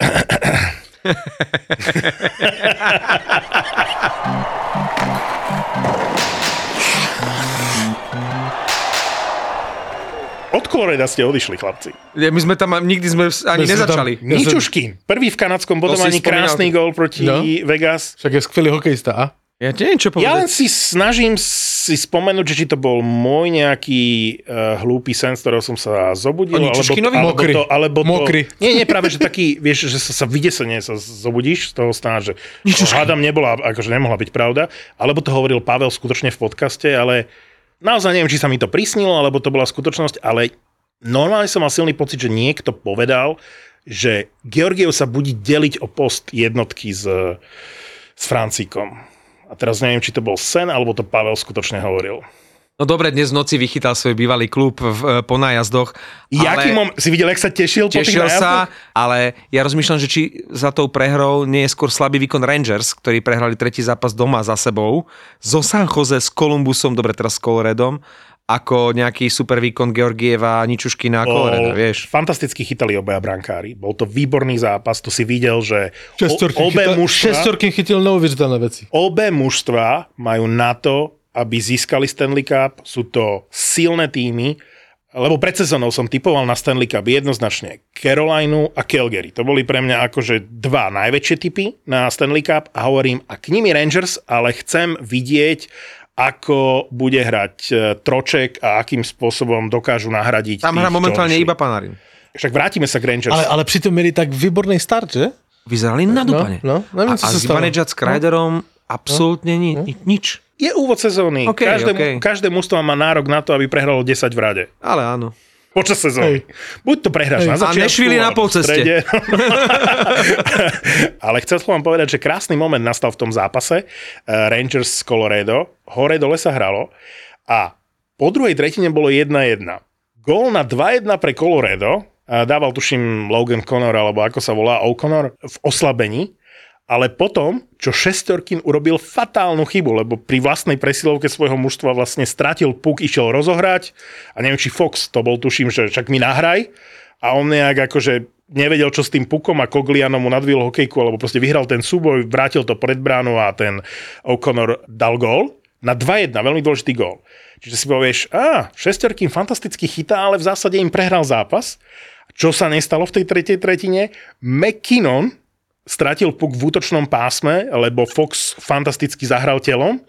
Od Coloreda ste odišli, chlapci. My sme tam, nikdy sme ani my nezačali. Tam, Ničuškin. Prvý v kanadskom bodovaní, krásny gól proti no? Vegas. Však je skvelý hokejista, a? Ja neviem, čo povedať. Ja len si snažím si spomenúť, že či to bol môj nejaký uh, hlúpy sen, z ktorého som sa zobudil. Alebo, alebo Mokry. To, alebo to, Mokry. Nie, nie, práve, že taký, vieš, že sa, sa vydesene sa zobudíš z toho sná, že hádam nebola, akože nemohla byť pravda. Alebo to hovoril Pavel skutočne v podcaste, ale naozaj neviem, či sa mi to prisnilo, alebo to bola skutočnosť, ale normálne som mal silný pocit, že niekto povedal, že Georgiev sa bude deliť o post jednotky s, s Francíkom. A teraz neviem, či to bol sen, alebo to Pavel skutočne hovoril. No dobre, dnes v noci vychytal svoj bývalý klub v, po nájazdoch. Jaký mom... Si videl, jak sa tešil, tešil po tých nájazdoch? sa, ale ja rozmýšľam, že či za tou prehrou nie je skôr slabý výkon Rangers, ktorí prehrali tretí zápas doma za sebou, zo San Jose s Columbusom, dobre teraz s Coloredom, ako nejaký super výkon Georgieva, Ničuškina a Coloreda, vieš. Fantasticky chytali obaja brankári. Bol to výborný zápas, to si videl, že o, obe chytal, mužstva... Šestorkin chytil neuveriteľné veci. Obe mužstva majú na to, aby získali Stanley Cup. Sú to silné týmy, lebo pred sezónou som typoval na Stanley Cup jednoznačne Carolinu a Calgary. To boli pre mňa akože dva najväčšie typy na Stanley Cup a hovorím, a k nimi Rangers, ale chcem vidieť, ako bude hrať Troček a akým spôsobom dokážu nahradiť. Tam hrá momentálne iba Panarin. Však vrátime sa k Rangers. Ale, ale pritom mieli tak výborný start, že? Vyzerali na dupane. No, no, neviem, a a Zibanejad s Kreiderom no? absolútne no? ni, nič. Je úvod sezóny. Okay, každé, okay. každé mužstvo má nárok na to, aby prehralo desať v rade. Ale áno. Počas sezóny. Hej. Buď to prehráš Hej. na začiatku. A Nešvili na polceste. Ale chcel som vám povedať, že krásny moment nastal v tom zápase. Rangers z Colorado. Hore dole sa hralo. A po druhej tretine bolo jedna jedna. Gól na dva jedna pre Colorado. Dával, tuším, Logan Connor, alebo ako sa volá, O'Connor, v oslabení. Ale potom, čo Šestorkin urobil fatálnu chybu, lebo pri vlastnej presilovke svojho mužstva vlastne stratil puk, išiel rozohrať a neviem, či Fox to bol, tuším, že však mi nahraj a on nejak akože nevedel, čo s tým pukom a Cogliano mu nadvil hokejku, alebo proste vyhral ten súboj, vrátil to pred bránu a ten O'Connor dal gól na dva jedna, veľmi dôležitý gól. Čiže si povieš, á, Shesterkin fantasticky chytá, ale v zásade im prehral zápas. Čo sa nestalo v tej tretej tretine? McKinnon stratil puk v útočnom pásme, lebo Fox fantasticky zahral telom.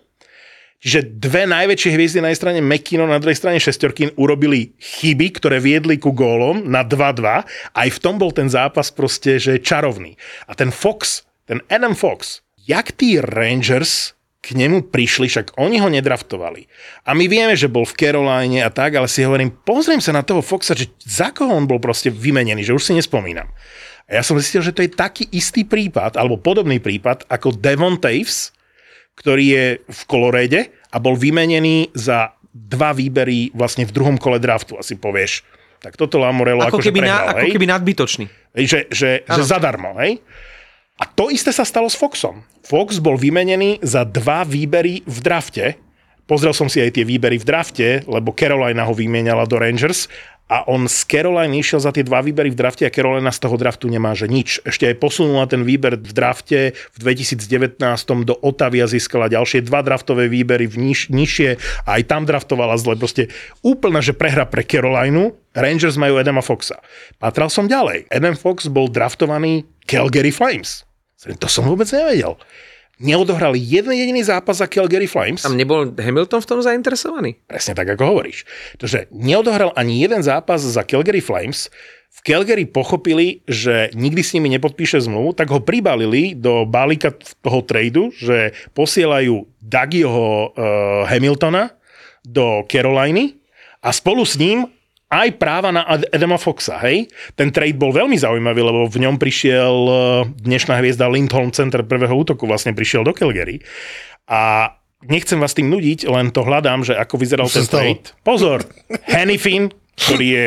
Čiže dve najväčšie hviezdy na jednej strane McKinnon, na druhej strane Shesterkin urobili chyby, ktoré viedli ku gólom na dva dva. Aj v tom bol ten zápas proste, že čarovný. A ten Fox, ten Adam Fox, jak tí Rangers k nemu prišli, však oni ho nedraftovali. A my vieme, že bol v Caroline a tak, ale si hovorím, pozriem sa na toho Foxa, že za koho on bol proste vymenený, že už si nespomínam. A ja som zistil, že to je taký istý prípad, alebo podobný prípad, ako Devon Toews, ktorý je v Colorade a bol vymenený za dva výbery vlastne v druhom kole draftu. Asi povieš, tak toto Lamoriello ako akože keby prehral, na, hej? Ako keby nadbytočný. Že, že, že zadarmo, hej? A to isté sa stalo s Foxom. Fox bol vymenený za dva výbery v drafte. Pozrel som si aj tie výbery v drafte, lebo Carolina ho vymieniala do Rangers a on z Caroliny išiel za tie dva výbery v drafte a Carolina z toho draftu nemá, že nič. Ešte aj posunula ten výber v drafte v dvetisícdevätnásť do Ottavy a získala ďalšie dva draftové výbery v niž, nižšie a aj tam draftovala zle. Proste úplne, že prehra pre Carolinu. Rangers majú Adama Foxa. Patral som ďalej. Adam Fox bol draftovaný Calgary Flames. To som vôbec nevedel. Neodohrali jeden jediný zápas za Calgary Flames. Tam nebol Hamilton v tom zainteresovaný? Presne tak, ako hovoríš. Takže neodohral ani jeden zápas za Calgary Flames. V Calgary pochopili, že nikdy s nimi nepodpíše zmluvu, tak ho pribalili do balíka toho tradu, že posielajú Dougieho uh, Hamiltona do Caroliny a spolu s ním aj práva na Adama Foxa, hej? Ten trade bol veľmi zaujímavý, lebo v ňom prišiel dnešná hviezda Lindholm, center prvého útoku, vlastne prišiel do Calgary. A nechcem vás tým nudiť, len to hľadám, že ako vyzeral ten trade. Pozor, Hanifin, ktorý je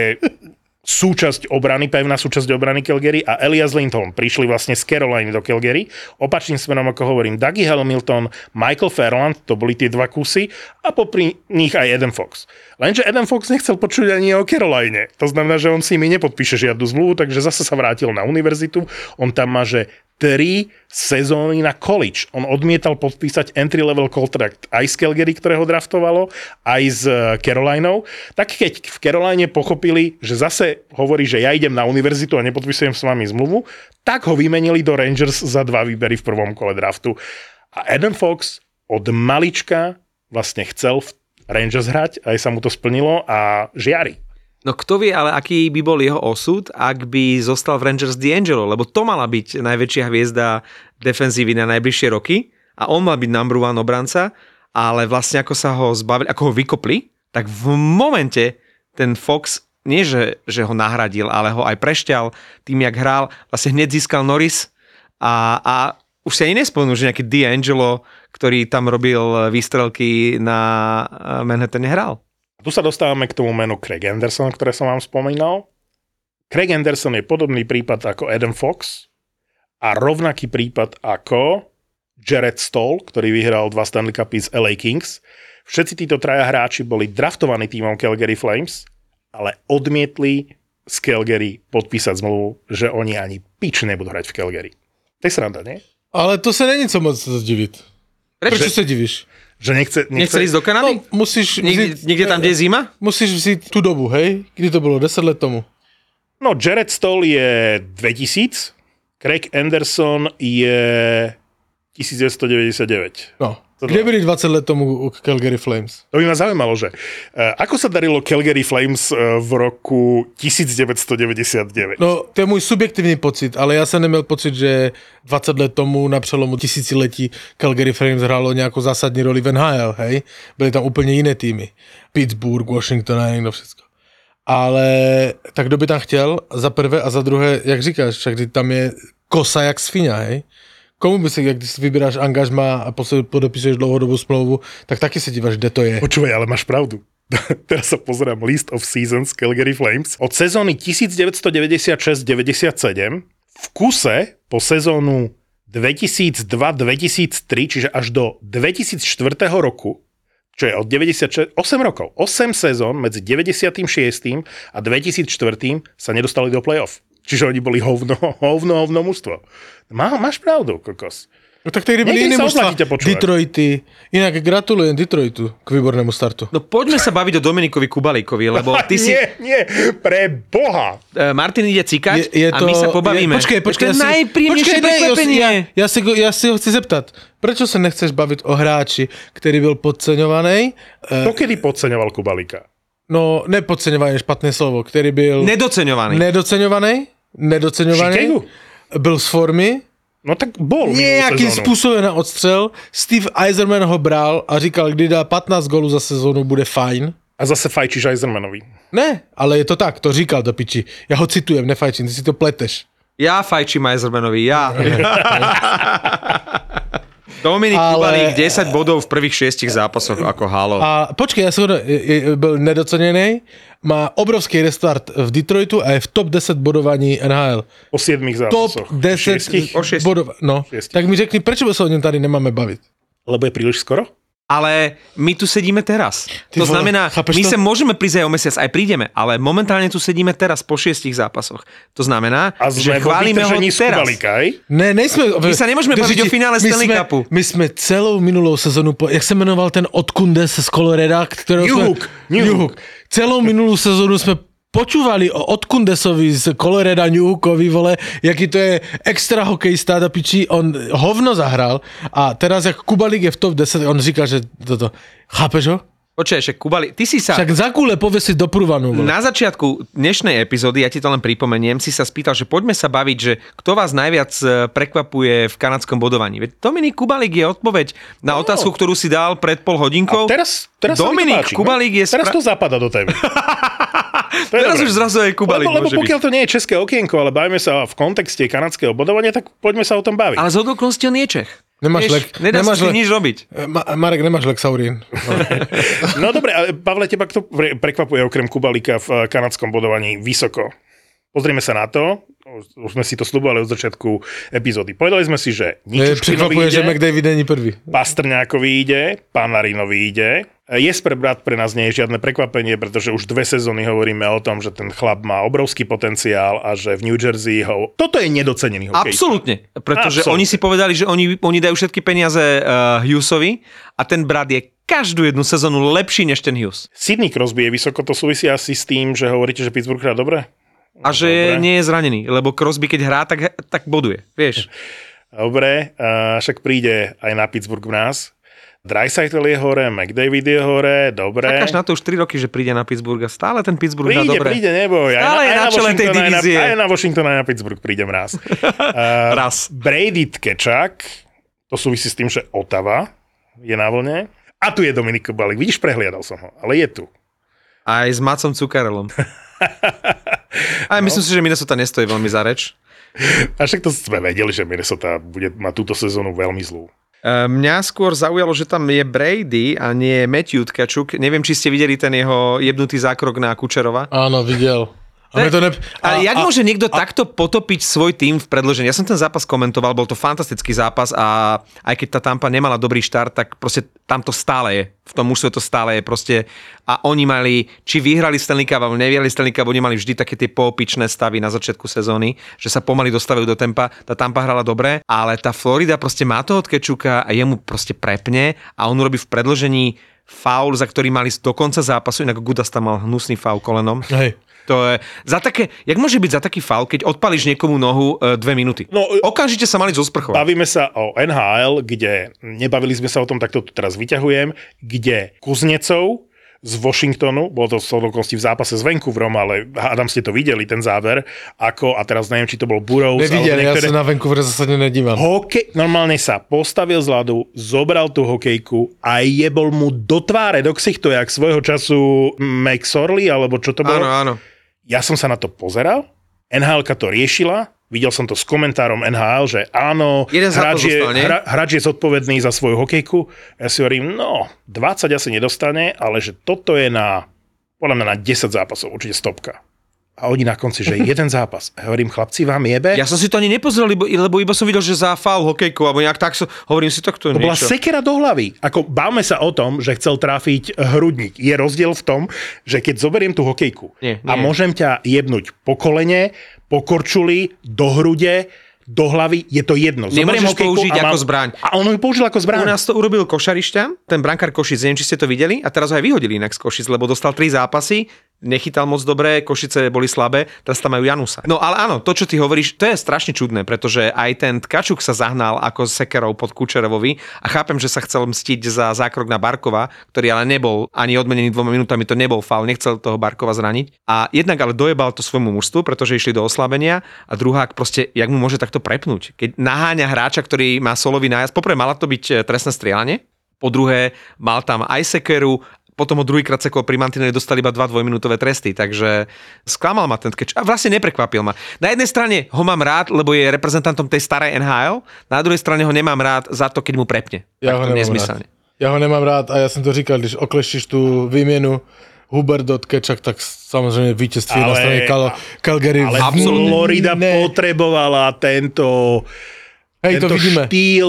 súčasť obrany, pevná súčasť obrany Calgary a Elias Lindholm prišli vlastne z Caroliny do Calgary. Opačným smerom, ako hovorím, Dougie Hamilton, Michael Ferland, to boli tie dva kusy a popri nich aj Adam Fox. Lenže Adam Fox nechcel počuť ani o Caroline. To znamená, že on si mi nepodpíše žiadnu zmluvu, takže zase sa vrátil na univerzitu. On tam má, že tri sezóny na college. On odmietal podpísať entry-level contract aj z Calgary, ktoré ho draftovalo, aj s Carolinou. Tak keď v Caroline pochopili, že zase hovorí, že ja idem na univerzitu a nepodpisujem s vami zmluvu, tak ho vymenili do Rangers za dva výbery v prvom kole draftu. A Adam Fox od malička vlastne chcel v Rangers hrať, aj sa mu to splnilo a žiari. No kto vie, ale aký by bol jeho osud, ak by zostal v Rangers D'Angelo, lebo to mala byť najväčšia hviezda defenzívy na najbližšie roky a on mal byť number one obranca, ale vlastne ako sa ho zbavili, ako ho vykopli, tak v momente ten Fox nie, že, že ho nahradil, ale ho aj prešťal tým, jak hral, vlastne hneď získal Norris a, a už si ani nespomenul, že nejaký D'Angelo, ktorý tam robil výstrelky na Manhattane, hral. Tu sa dostávame k tomu menu Craig Anderson, ktoré som vám spomínal. Craig Anderson je podobný prípad ako Adam Fox a rovnaký prípad ako Jared Stoll, ktorý vyhral dva Stanley Cupy z el ej Kings. Všetci títo traja hráči boli draftovaní tímom Calgary Flames, ale odmietli z Calgary podpísať zmluvu, že oni ani pič nebudú hrať v Calgary. To je sranda, nie? Ale to sa není co moc divit. Prečo sa divíš? Že nechce, nechce... Nechce ísť do Kanady? No, musíš... Niekde, vzít, niekde tam, kde je zima? Musíš vzít tú dobu, hej? Kdy to bolo? deset let tomu. No, Jared Stoll je dvetisíc, Craig Anderson je devätnásťstodeväťdesiatdeväť. No. Kde byli dvadsať let tomu u Calgary Flames? To by ma zaujímalo, že uh, ako sa darilo Calgary Flames uh, v roku devätnásťstodeväťdesiatdeväť? No, to je můj subjektivní pocit, ale já jsem neměl pocit, že dvacet let tomu na přelomu tisíciletí Calgary Flames hrálo nějakou zásadní roli v en há el, hej? Byly tam úplně jiné týmy. Pittsburgh, Washington a někdo všechno. Ale tak kdo by tam chtěl za prvé a za druhé, jak říkáš, však tam je kosa jak sviňa, hej? Komu by si, když si vybíráš angažma a podopisuješ dlouhodobou smlouvu, tak taky se díváš, kde to je. Počúvaj, ale máš pravdu. Teraz sa pozerám list of seasons Calgary Flames. Od sezóny devätnásťstodeväťdesiatšesť deväťdesiatsedem v kuse po sezónu dvetisícdva dvetisíctri, čiže až do dvetisícštyri roku, čo je od deväťdesiatšesť, osem rokov, osem sezón medzi deväťdesiatšesť a dvetisícštyri sa nedostali do play-off. Čiže oni boli hovno, hovno, hovno mužstvo. Má, máš pravdu, kokos. No tak tedy byli iní mužstva. Detroity. Inak gratulujem Detroitu k výbornému startu. No poďme sa baviť o Dominikovi Kubalíkovi, lebo ty si... Nie, nie, pre Boha. Uh, Martin ide cikať je, je a to, my sa pobavíme. Je, počkej, počkej. To je najpríjemnejšie prekvapenie. Ja, ja, si, ja si ho chci zeptat. Prečo sa nechceš baviť o hráči, ktorý byl podceňovaný? To kedy podceňoval Kubalíka? No, nepodceňovaný, špatné slovo. Ktorý byl... Nedoceňovaný. Nedoceňovaný. Nedoceňovaný. Chicago? Byl z formy. No tak bol. Nejakým spôsobom na odstřel. Steve Yzerman ho bral a říkal, kdy dá pätnásť gólů za sezónu, bude fajn. A zase fajčíš Yzermanovi. Ne, ale je to tak, to říkal do piči. Ja ho citujem, nefajčím, ty si to pleteš. Ja fajčím Yzermanovi, ja. Dominik ale... Kubalík, desať bodov v prvých šiestich zápasoch ako halo. A počkej, ja som byl nedocenený, má obrovský restart v Detroitu a je v top desať bodovaní en há el. O siedmich zápasoch. Top desať bodov. No, šiestich. Tak mi řekni, prečo sa o ňom tady nemáme baviť? Lebo je príliš skoro? Ale my tu sedíme teraz. Ty to vole, znamená, my to? Sa môžeme prísť aj o mesiac, aj prídeme, ale momentálne tu sedíme teraz po šiestich zápasoch. To znamená, a že chválime ho teraz. Kubalíka, ne, nejsme... My sa nemôžeme baviť o finále Stanley Cupu. My sme celou minulou sezónu, po, jak sa menoval ten Odkundes z Coloreda, ktorého Newhook. sme... Newhook. Celou minulú sezónu sme počúvali o Odkundesovi z Coloreda, Newhookovi, vole, jaký to je extra hokejista do piči, on hovno zahral a teraz, jak Kubalík je v top desať, on říká, že toto, chápeš ho? Počkaj, však Kubalík, ty si sa... Však za kúle povesiť do prúvanu. Na začiatku dnešnej epizódy, ja ti to len pripomeniem, si sa spýtal, že poďme sa baviť, že kto vás najviac prekvapuje v kanadskom bodovaní. Veď Dominik Kubalík je odpoveď na otázku, ktorú si dal pred pol hodinkou. A teraz, teraz Dominik páči, Kubalík je... Teraz spra... to zapadá do témy. Teraz dobré. Už zrazu aj Kubalík lebo, môže lebo pokiaľ byť. to nie je české okienko, ale bavíme sa v kontexte kanadského bodovania, tak poďme sa o tom baviť. Ale z okolností on je Čech. Nemáš Vieš, lek, nedá nemáš si le... nič robiť. Ma, Marek, nemáš Lexaurín. No dobre, ale Pavle, teba kto prekvapuje okrem Kubalíka v kanadskom bodovaní vysoko? Pozrieme sa na to. Už sme si to sľubovali od začiatku epizódy. Povedali sme si, že Ničuškinovi ide, že McDavid není prvý. Pastrňákovi ide, Panarinovi ide. Jesper Bratt pre nás nie je žiadne prekvapenie, pretože už dve sezóny hovoríme o tom, že ten chlap má obrovský potenciál a že v New Jersey ho... Toto je nedocenený hokejista. Absolútne, pretože Absolutne. Oni si povedali, že oni, oni dajú všetky peniaze uh, Hughesovi a ten Bratt je každú jednu sezónu lepší než ten Hughes. Sidney Crosby je vysoko, to súvisí asi s tým, že hovoríte, že Pittsburgh hrá dobre? A že je, nie je zranený, lebo Crosby keď hrá, tak, tak boduje, vieš. Dobre, uh, však príde aj na Pittsburgh v nás. Draisaitl je hore, McDavid je hore, dobre. Čakáš na to už tri roky, že príde na Pittsburgh a stále ten Pittsburgh príde, hrá dobre. Príde, príde, neboj. Stále aj je na, na čele tej divízie. Aj na Washington, aj na Pittsburgh prídem raz. uh, raz. Brady Tkečak, to súvisí s tým, že Ottawa je na vlne. A tu je Dominik Kubalík. Vidíš, prehliadal som ho, ale je tu. Aj s Macom Cukarelom. Aj no. Myslím si, že Minnesota nestojí veľmi za reč. A však to sme vedeli, že Minnesota bude mať túto sezónu veľmi zlú. Mňa skôr zaujalo, že tam je Brady a nie Matthew Tkachuk. Neviem, či ste videli ten jeho jebnutý zákrok na Kučerova. Áno, videl. A to ne... a, Ale jak a, môže niekto a, takto potopiť svoj tým v predĺžení? Ja som ten zápas komentoval, bol to fantastický zápas a aj keď tá Tampa nemala dobrý štart, tak proste tam to stále je. V tom mužstve to stále je proste. A oni mali, či vyhrali Stanley Cup, alebo nevyhrali Stanley Cup, oni mali vždy také tie poopičné stavy na začiatku sezóny, že sa pomaly dostávajú do tempa. Tá Tampa hrala dobre, ale tá Florida proste má toho Tkečuka a jemu proste prepne a on urobí v predĺžení faul, za ktorý mali do konca zápasu, inak Gudas tam mal hnusný faul kolenom. Hej. To je za také, jak môže byť za taký faul, keď odpališ niekomu nohu e, dve minúty? No, okamžite sa mali zosprchovať. Bavíme sa o en há el, kde, nebavili sme sa o tom, tak to tu teraz vyťahujem, kde Kuznecov z Washingtonu, bolo to v v zápase s Vancouverom, ale hádam ste to videli, ten záver, ako, a teraz neviem, či to bol Burroughs. Nevidel, niektoré... ja sa na Vancouver zase nedívam. Hokej, normálne sa postavil z ľadu, zobral tú hokejku a jebol mu do tváre, do ksichtu, jak svojho času McSorley, alebo čo to bolo. Áno, áno. Ja som sa na to pozeral, en há elka to riešila, videl som to s komentárom en há el, že áno, hráč je, hra, hráč je zodpovedný za svoju hokejku. Ja si hovorím, no, dvadsať asi nedostane, ale že toto je na, podľa mňa na desať zápasov, určite stopka. A oni na konci, že jeden zápas. A hovorím, chlapci, vám jebe? Ja som si to ani nepozrel, lebo, lebo iba som videl, že za faul hokejkou, alebo nejak tak som, hovorím si to, kto To bola niečo. sekera do hlavy. Ako bavme sa o tom, že chcel trafiť hrudník. Je rozdiel v tom, že keď zoberiem tú hokejku Nie, a nie. môžem ťa jebnúť po kolene, po korčuli, do hrude, do hlavy, je to jedno. Zoberiem Nemôžeš hokejku použiť a ako mám- zbraň. A on ju použil ako U zbraň. nás to urobil Košarišťan, ten brankár Košic, neviem, či ste to videli, a teraz ho aj vyhodili inak z Košic, lebo dostal tri zápasy, nechytal moc dobre, Košice boli slabé, teraz tam majú Janusa. No ale áno, to, čo ty hovoríš, to je strašne čudné, pretože aj ten Tkačuk sa zahnal ako sekerov pod Kučerovovi a chápem, že sa chcel mstiť za zákrok na Barkova, ktorý ale nebol ani odmenený dvoma minútami, to nebol faul, nechcel toho Barkova zraniť. A jednak ale dojebal to svojmu mužstvu, pretože išli do oslabenia a druhák proste, jak mu môže takto prepnúť. Keď naháňa hráča, ktorý má solový nájazd, poprvé mala to byť trestné strieľanie, po druhé mal tam aj sekeru, potom ho druhýkrát sekol pri mantineli, dostali iba dva dvojminútové tresty, takže sklamal ma ten Tkačuk a vlastne neprekvapil ma. Na jednej strane ho mám rád, lebo je reprezentantom tej starej en há el, na druhej strane ho nemám rád za to, keď mu prepne. Ja ho Takto nemám nezmyselne. rád. Ja ho nemám rád a ja som to říkal, když okleštíš tú výmienu Hubert do Tkačuk, tak samozrejme víťazství na strane Cal- Calgary. Ale Absolutne. Florida potrebovala tento, Hej, to tento vidíme. štýl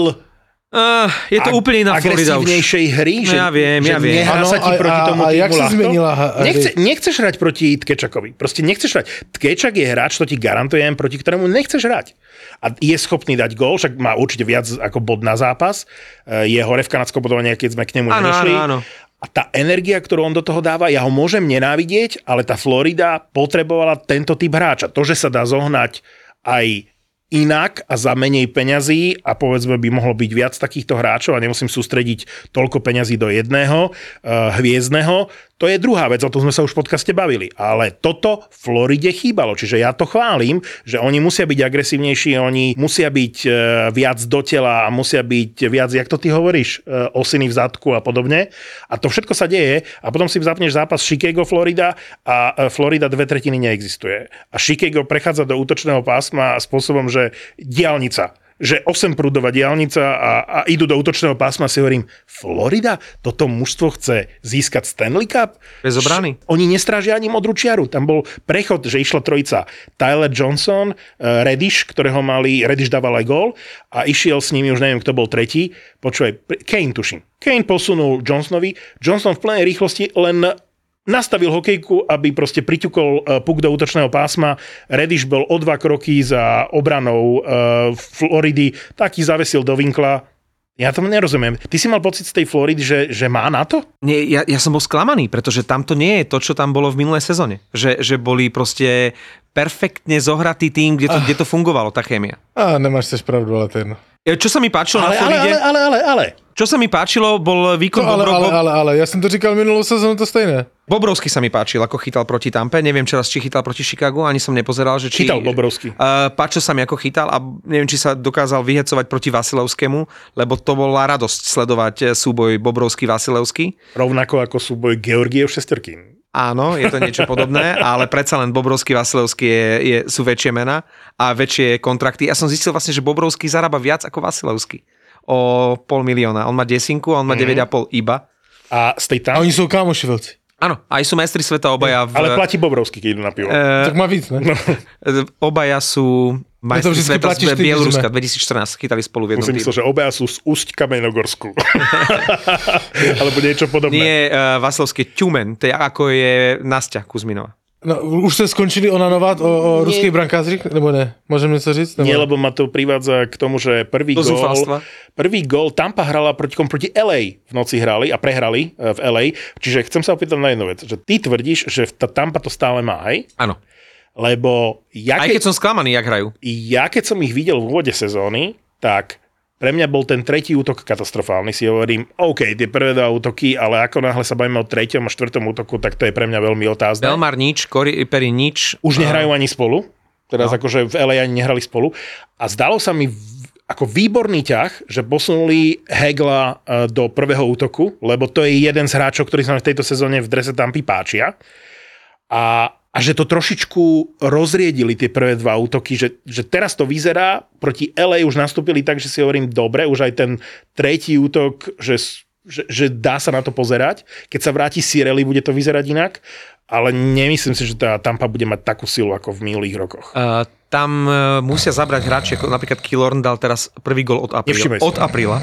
Uh, je to ag- úplne iná Florida už. agresívnejšej hry, No že, ja viem, že ja viem. nehrá sa Áno, ti a- proti a- tomu a týmu jak sa ľahko. zmenila ha- Nechce, hry? nechceš hrať proti Tkačukovi. Proste nechceš hrať. Tkačuk je hráč, to ti garantujem, proti ktorému nechceš hrať. A je schopný dať gól, však má určite viac ako bod na zápas. E, Je hore v kanadskom bodovaní, keď sme k nemu Áno, nedošli. áno, áno. A tá energia, ktorú on do toho dáva, ja ho môžem nenávidieť, ale tá Florida potrebovala tento typ hráča. To, že sa dá zohnať aj inak a za menej peňazí a povedzme by mohlo byť viac takýchto hráčov a nemusím sústrediť toľko peňazí do jedného uh, hviezdneho, to je druhá vec, o tom sme sa už v podcaste bavili. Ale toto Floride chýbalo, čiže ja to chválim, že oni musia byť agresívnejší, oni musia byť uh, viac do tela a musia byť viac, jak to ty hovoríš, uh, osiny v zadku a podobne. A to všetko sa deje a potom si zapneš zápas Chicago, Florida a uh, Florida dve tretiny neexistuje. A Chicago prechádza do útočného pásma spôsobom, že diaľnica, že osemprúdová diaľnica a, a idú do útočného pásma, si hovorím, Florida, toto mužstvo chce získať Stanley Cup? Bez obrany. Š- Oni nestrážia ani modrú čiaru. Tam bol prechod, že išla trojica Tyler Johnson, uh, Reddish, ktorého mali, Reddish dával aj gól a išiel s nimi, už neviem, kto bol tretí. Počúvaj, Kane tuším. Kane posunul Johnsonovi. Johnson v plnej rýchlosti len nastavil hokejku, aby proste priťukol uh, puk do útočného pásma. Reddish bol o dva kroky za obranou uh, Floridy, taký zavesil do vinkla. Ja tomu nerozumiem. Ty si mal pocit z tej Floridy, že, že má na to? Nie, ja, ja som bol sklamaný, pretože tam to nie je to, čo tam bolo v minulej sezóne. Že, že boli proste perfektne zohratý tým, kde to, kde to fungovalo, tá chémia. Á, nemáš tiež pravdu, ale to je jedno. Čo sa mi páčilo Ale, na ale, Floride? ale, ale, ale, ale. Čo sa mi páčilo, bol výkon No, ale, Bobro... ale, ale, ale, ja som to říkal minulú sezónu, to stejné. Bobrovský sa mi páčil, ako chytal proti Tampe. Neviem, či raz či chytal proti Chicagu, ani som nepozeral, že či... Chytal Bobrovský. Uh, páčil sa mi, ako chytal a neviem, či sa dokázal vyhecovať proti Vasilevskému, lebo to bola radosť sledovať súboj Bobrovský-Vasilevský. Rovnako ako súboj Georgiev Šesterkin. Áno, je to niečo podobné, ale predsa len Bobrovský, Vasilevský je, je, sú väčšie mená a väčšie kontrakty. Ja som zistil vlastne, že Bobrovský zarába viac ako Vasilevský. O pol milióna. On má desinku a on má mm. deväť a pol iba. A z tej A tam... oni sú kámoši veľci. Áno, aj sú majstri sveta obaja. V, Ale platí Bobrovský, keď idú na pivo. e, Tak má víc, ne? obaja sú majstri vždycky sveta platíš z ty, Bieloruska. keď sme. dvetisíctompätnásť chytali spolu v jednom Musím týmu. myslieť, že obaja sú z Úsť Kamenogorsku. Alebo niečo podobné. Nie, uh, Vasilevský Tumen, to je ako je Nastia Kuzminová. No, už ste skončili onanovat o, o ruských brankářích? Nebo ne? Môžem něco říct? Nebo... Nie, lebo ma to privádza k tomu, že prvý Do gól, zúfalstva. prvý gól Tampa hrala proti, proti el ej v noci hrali a prehrali e, v el ej. Čiže chcem sa opýtať na jednu vec, že ty tvrdíš, že tá Tampa to stále má, hej? Áno. Lebo ja Aj keď, keď som sklamaný, jak hrajú. ja keď som ich videl v úvode sezóny, tak pre mňa bol ten tretí útok katastrofálny. Si hovorím, OK, tie prvé dva útoky, ale ako náhle sa bavíme o treťom a štvrtom útoku, tak to je pre mňa veľmi otázne. Belmar nič, Corey Perry nič. Už nehrajú ani spolu. Teraz No. akože v el ej ani nehrali spolu. A zdalo sa mi v- ako výborný ťah, že posunuli Hegla e, do prvého útoku, lebo to je jeden z hráčov, ktorý sa mi v tejto sezóne v drese Tampy páčia. A, a že to trošičku rozriedili tie prvé dva útoky, že, že teraz to vyzerá, proti el ej už nastúpili tak, že si hovorím, dobre, už aj ten tretí útok, že že, že dá sa na to pozerať. Keď sa vráti Cirelli, bude to vyzerať inak, ale nemyslím si, že tá Tampa bude mať takú silu ako v minulých rokoch. Uh, tam uh, musia zabrať hráči, ako napríklad Killorn dal teraz prvý gól od apríla. Od apríla.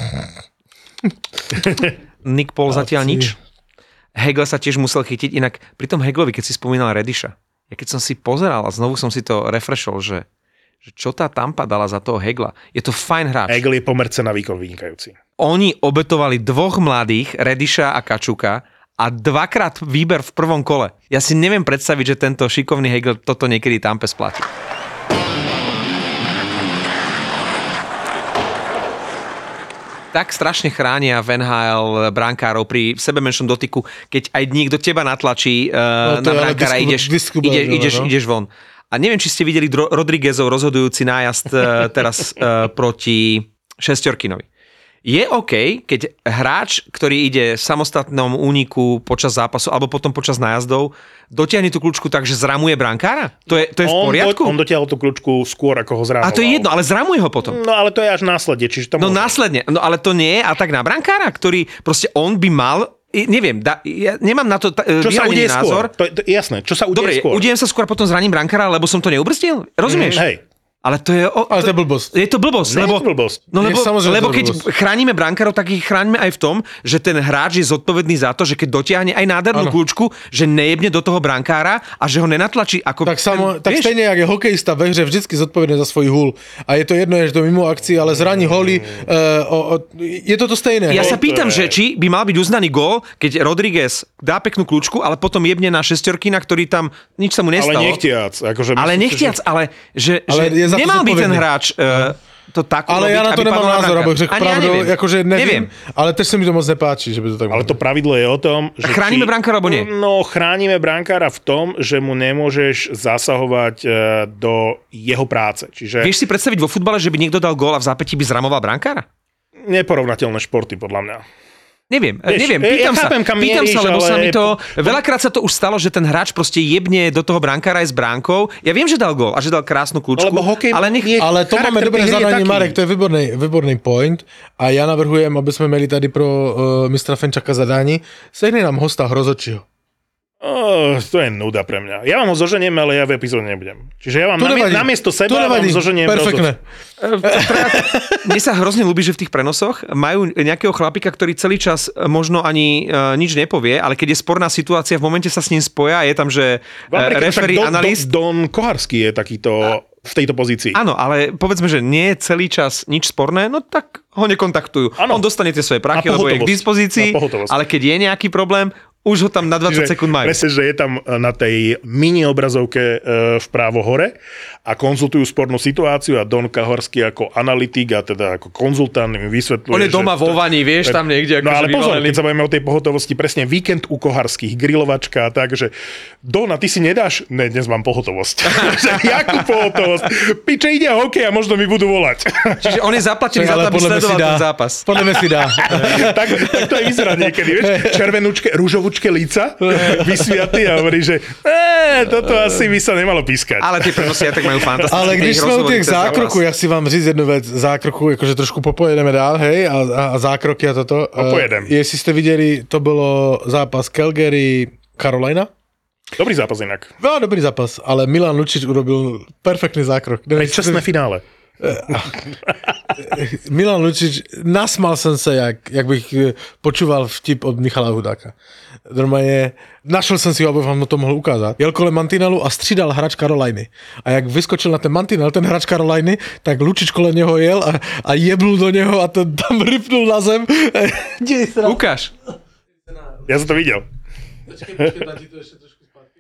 Nick Paul zatiaľ nič. Hegel sa tiež musel chytiť, inak pri tom Heglovi, keď si spomínal Rediša, ja keď som si pozeral a znovu som si to refreshol, že, že čo tá Tampa dala za toho Hegla, je to fajn hráč. Hegel je pomer cena výkon vynikajúci. Oni obetovali dvoch mladých, Rediša a Kačuka, a dvakrát výber v prvom kole. Ja si neviem predstaviť, že tento šikovný Hegel toto niekedy Tampe splatí. Tak strašne chránia v en há el brankárov pri sebe menšom dotyku, keď aj niekto teba natlačí uh, no, na brankára, ideš, ide, ideš, no? ideš von. A neviem, či ste videli Dro- Rodriguezov rozhodujúci nájazd uh, teraz uh, proti Šesťorkinovi. Je OK, keď hráč, ktorý ide v samostatnom úniku počas zápasu alebo potom počas nájazdov, dotiahne tú kľúčku tak, že zramuje brankára? To je, to je v poriadku? On, on dotiahol tú kľúčku skôr, ako ho zramoval. A to je jedno, ale zramuje ho potom. No ale to je až následne. Čiže to no môže. následne, no ale to nie je a tak na brankára, ktorý proste on by mal, neviem, da, ja nemám na to ta, čo sa udeje názor. Skôr? To, to, jasné, čo sa udeje Dobre, skôr? udejem sa skôr, potom zraním brankára, lebo som to neubrzdil? Rozumieš? Mm, hej. Ale to je... O, ale to je blbosť. Je to blbosť, Nie lebo, je to blbosť. No lebo, lebo keď blbosť. chránime brankárov, tak ich chránime aj v tom, že ten hráč je zodpovedný za to, že keď dotiahne aj nádhernú kľúčku, že nejebne do toho brankára a že ho nenatlačí ako... Tak, samo, tak stejne, jak je hokejista ve hře vždycky zodpovedný za svoj hul. A je to jedno, je to mimo akcii, ale zraní holy, uh, o, o, je to to stejné. Ja hej? sa pýtam, že či by mal byť uznaný gól, keď Rodriguez dá peknú kľúčku, ale potom jebne na Šesťorkina, ktorý tam nič sa mu nestalo. Ale nechtiac. Akože ale nechtiac, že... ale že, ale že nemal byť ten hráč uh, to tak ale urobiť, ja na to nemám názor, aby řekl pravdu, ja akože neviem, neviem, ale tež sa mi to moc nepáči, že by to tak ale to pravidlo je o tom, že chránime či... brankára, alebo nie? No, chránime brankára v tom, že mu nemôžeš zasahovať uh, do jeho práce. Čiže... Vieš si predstaviť vo futbale, že by niekto dal gól a v zápätí by zramoval brankára? Neporovnateľné športy, podľa mňa. Neviem, Vieš, neviem, pýtam ja chápem, sa, pýtam mieríš, sa, lebo ale... sa mi to, veľakrát sa to už stalo, že ten hráč proste jebne do toho brankára aj s bránkou. Ja viem, že dal gól a že dal krásnu kľúčku, ale, nech... ale to máme dobré zadanie, Marek, to je výborný, výborný point a ja navrhujem, aby sme mali tady pro uh, mistra Fenčaka zadání, sehni nám hosta Hrozočiho. Oh, to je nuda pre mňa. Ja vám ho zoženiem, ale ja v epizóde nebudem. Čiže ja vám namie- namiesto seba vám zoženiem. Perfektné. Mne sa hrozne ľúbi, že v tých prenosoch majú nejakého chlapika, ktorý celý čas možno ani uh, nič nepovie, ale keď je sporná situácia, v momente sa s ním spoja, je tam, že uh, referee, analyst... Don, Don Koharský je takýto... v tejto pozícii. Áno, ale povedzme, že nie je celý čas nič sporné, no tak ho nekontaktujú. Ano. On dostane tie svoje prachy, lebo je k dispozícii, ale keď je nejaký problém, už ho tam na dvadsať Čiže sekúnd majú. Presne, že je tam na tej mini obrazovke vpravo hore a konzultujú spornú situáciu a Don Kahorský ako analytik a teda ako konzultant im vysvetľuje. On je doma vo vani, vieš, tam niekde. No ale pozor, keď sa bavíme o tej pohotovosti, presne víkend u Koharských, grilovačka a tak, že Don, a ty si nedáš? Ne, dnes mám pohotovosť. Jakú pohotovosť? Piče, ide hokej a možno mi budú volať. Čiže on je zaplatený za to, aby sledoval ten zápas. Podľa mňa si dá. tak, tak to aj vyzerá niekedy, vieš, červenúčke, rúžovúčke líca, vysviatý a hovorí, že e, toto asi by sa nemalo pískať. Ale tie prenosy tak majú fantastické. Ale když sme u tých zákrokov, ja si vám říct jednu vec, zákroku, akože trošku popojedeme dál, hej, a, a, a zákroky a toto. Popojedem. Uh, jestli ste videli, to bolo zápas Calgary Carolina. Dobrý zápas inak. No, dobrý zápas, ale Milan Lučič urobil perfektný zákrok. Čestné finále. Milan Lučič, nasmal som sa, jak, jak bych počúval vtip od Michala Hudáka. Normálne, našel som si ho, aby vám to mohol ukázať. Jel kolem mantinelu a střídal hráč Caroliny. A jak vyskočil na ten mantinel, ten hráč Caroliny, tak Lučič kolem neho jel a, a jebnul do neho a ten tam rypnul na zem. Ukáž. Ja som to videl. Počkej, počkej, dá ti to ešte trošku spátky.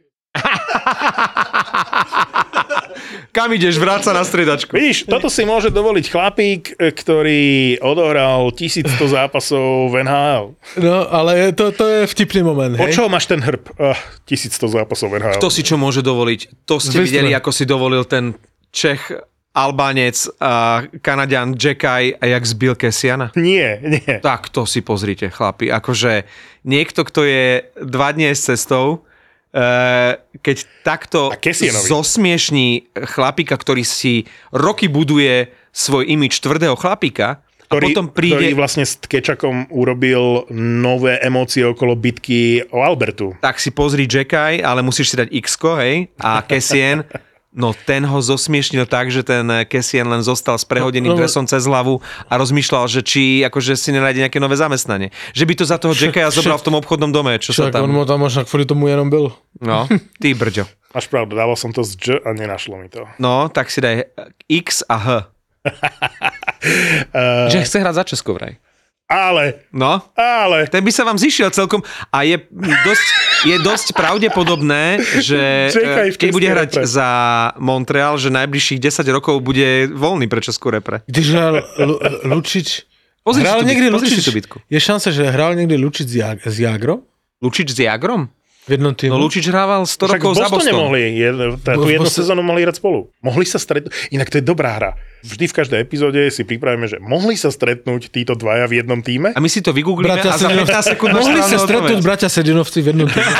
Kam ideš? Vráť sa na striedačku. Vidíš, toto si môže dovoliť chlapík, ktorý odohral tisícsto zápasov v en há el. No, ale to, to je vtipný moment, hej? Po čo máš ten hrb? Uh, tisícsto zápasov v en há el. Kto si čo môže dovoliť? To ste Vystre. videli, ako si dovolil ten Čech, Albánec a Kanaďan Jackaj a jak zbil Kesiana? Nie, nie. Tak to si pozrite, chlapi. Akože niekto, kto je dva dní s cestou, keď takto zosmiešní chlapíka, ktorý si roky buduje svoj imič tvrdého chlapíka, a ktorý, potom príde... ktorý vlastne s Kečakom urobil nové emócie okolo bitky o Albertu. Tak si pozri Jackai, ale musíš si dať X-ko, hej, a Cassian, no ten ho zosmiešnil tak, že ten Cassian len zostal s prehodeným No, no, dresom cez hlavu a rozmýšľal, že či akože si nenájde nejaké nové zamestnanie. Že by to za toho Jackaia zobral v tom obchodnom dome, čo sa Však tam... on tam možno kvôli tomu jenom byl. No, ty brďo. Máš pravdu, dával som to z J a nenašlo mi to. No, tak si daj X a H. Uh, Že chce hrať za Česko vraj. ale, No, ale... ten by sa vám zišiel celkom a je dosť, je dosť pravdepodobné, že Čekaj v keď bude českej hrať repre. za Montreal, že najbližších desať rokov bude voľný pre Českú repre. Když hral Lu- Lučič... Pozri si hral tú niekdy bitku, pozri si Lučič... tú bitku. Je šanca, že hral niekdy Lučič s, Jag- s Jagrom? Lučič s Jagrom? V jednom týmu? No Lučič hrával sto Však rokov v za Bostone Boston. mohli, je, tá, tú V jednu Boston- sezónu mohli hrať spolu. Mohli sa stretnúť, inak to je dobrá hra. Vždy v každej epizóde si pripravíme, že mohli sa stretnúť títo dvaja v jednom týme. A my si to vygooglíme a za Sedinov- pätnásť sekúnd máš Mohli sa správnu stretnúť odpoveď. bratia Sedinovci v jednom týmu.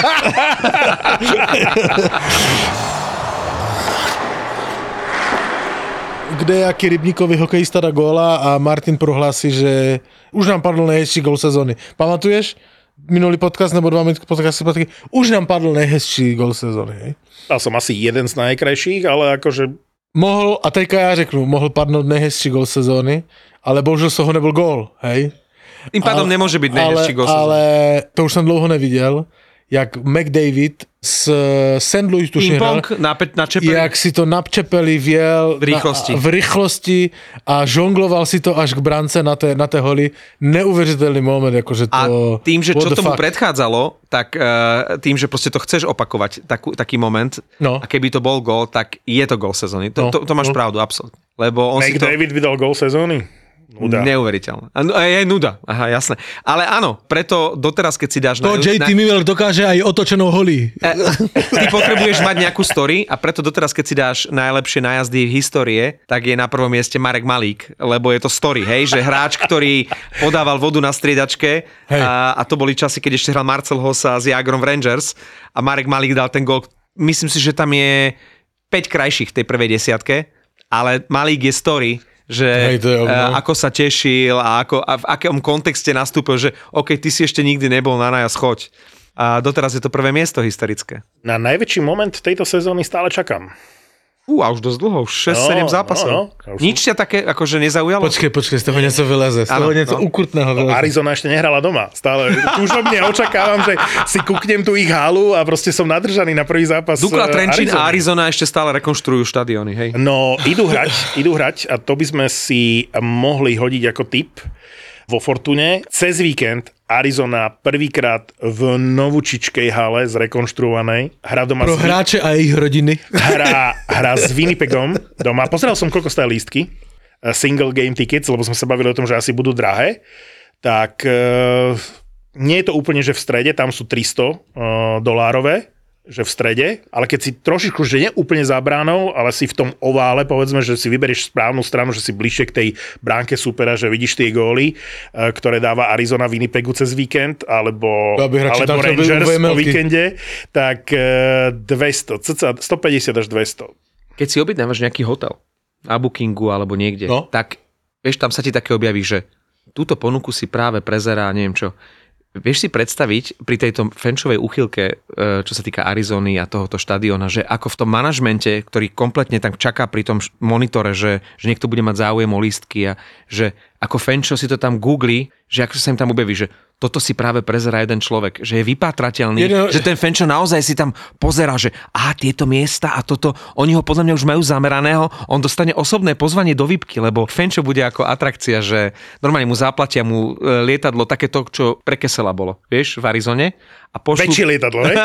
Kde jaký Rybníkový hokejista dá góla a Martin prohlási, že už nám padl nejhezčí gól sezóny. Pamatuješ? Minulý podcast nebo dva podcasty zpátky, už nám padl nejhezčí gól sezóny. Hej? Dal som asi jeden z najkrajších, ale akože Mohl, a teďka já řeknu, mohl padnout nejhezčí gól sezóny, ale bohužel z toho nebyl gól, hej? Tým pádom Ale- nemôže byť najhezčí gól sezóny. Ale to už jsem dlouho neviděl, jak McDavid z Saint Louis tuším hral, Ping-pong na, pe- na čepeli. jak si to na čepeli vjel V rýchlosti. Na, v rychlosti a žongloval si to až k brance na té, na té holi. Neuvěřitelný moment, jakože to... A tým, že what čo the tomu fuck. predchádzalo, tak uh, tým, že proste to chceš opakovať, takú, taký moment, No. a keby to bol gól, tak je to gól sezóny. To, No. to, to máš No. pravdu, absolútne. Lebo on si to... McDavid vydal gól sezóny. Nuda. Neuveriteľné. A, a je nuda, aha, jasné. Ale áno, preto doteraz, keď si dáš To na... J T Miller dokáže aj otočenou holí. E, ty potrebuješ mať nejakú story a preto doteraz, keď si dáš najlepšie najazdy v histórie, tak je na prvom mieste Marek Malík, lebo je to story, hej, že hráč, ktorý podával vodu na striedačke a, a to boli časy, keď ešte hral Marcel Hossa s Jagrom v Rangers a Marek Malík dal ten gól. Myslím si, že tam je päť krajších v tej prvej desiatke, ale Malík je story, že Hej, to je ono. a, ako sa tešil a, ako, a v akom kontexte nastúpil, že OK, ty si ešte nikdy nebol na najazd, choď. A doteraz je to prvé miesto historické. Na najväčší moment tejto sezóny stále čakám. Fú, a už dosť dlho, už šesť sedem No, zápasov. no, no. Ja už Nič ťa také akože nezaujalo? Počkej, počkej, z toho něco vyleze, z toho Áno, něco no. ukrutného vyleze. Arizona ešte nehrala doma. Stále túžobne očakávam, že si kúknem tú ich halu a proste som nadržaný na prvý zápas. Dukla eh, Trenčín a Arizony. Arizona ešte stále rekonštruujú štadióny, hej? No, idú hrať, idú hrať a to by sme si mohli hodiť ako tip vo Fortune. Cez víkend Arizona prvýkrát v novúčičkej hale zrekonštruovanej. Hra doma Pro s, hráče a jejich rodiny. hra, hra s Winnipegom doma. Pozeral som, koľko stále lístky. eh, Single game tickets, lebo sme sa bavili o tom, že asi budú drahé. Tak e, nie je to úplne, že v strede, tam sú tristo e, dolárové, že v strede, ale keď si trošičku, že nie úplne za bránou, ale si v tom ovále, povedzme, že si vyberieš správnu stranu, že si bližšie k tej bránke supera, že vidíš tie góly, e, ktoré dáva Arizona Winnipegu cez víkend, alebo, To aby hráči tam alebo chceli byť Rangers vé em po elky. víkende, tak e, dvesto, cca stopäťdesiat až dvesto. Keď si objednávaš nejaký hotel na Bookingu alebo niekde, No. tak vieš, tam sa ti také objaví, že túto ponuku si práve prezerá, neviem čo. Vieš si predstaviť pri tejto fenčovej úchylke, čo sa týka Arizony a tohoto štadióna, že ako v tom manažmente, ktorý kompletne tam čaká pri tom monitore, že, že niekto bude mať záujem o lístky a že ako fenčo si to tam googli, že ako sa im tam objaví, že toto si práve prezerá jeden človek, že je vypátrateľný, Jedno... že ten fenčo naozaj si tam pozerá, že a tieto miesta a toto, oni ho podľa mňa už majú zameraného, on dostane osobné pozvanie do výpky, lebo fenčo bude ako atrakcia, že normálne mu zaplatia mu e, lietadlo takéto, čo pre Kesela bolo, vieš, v Arizone. A pošlu... Väčšie lietadlo, hej?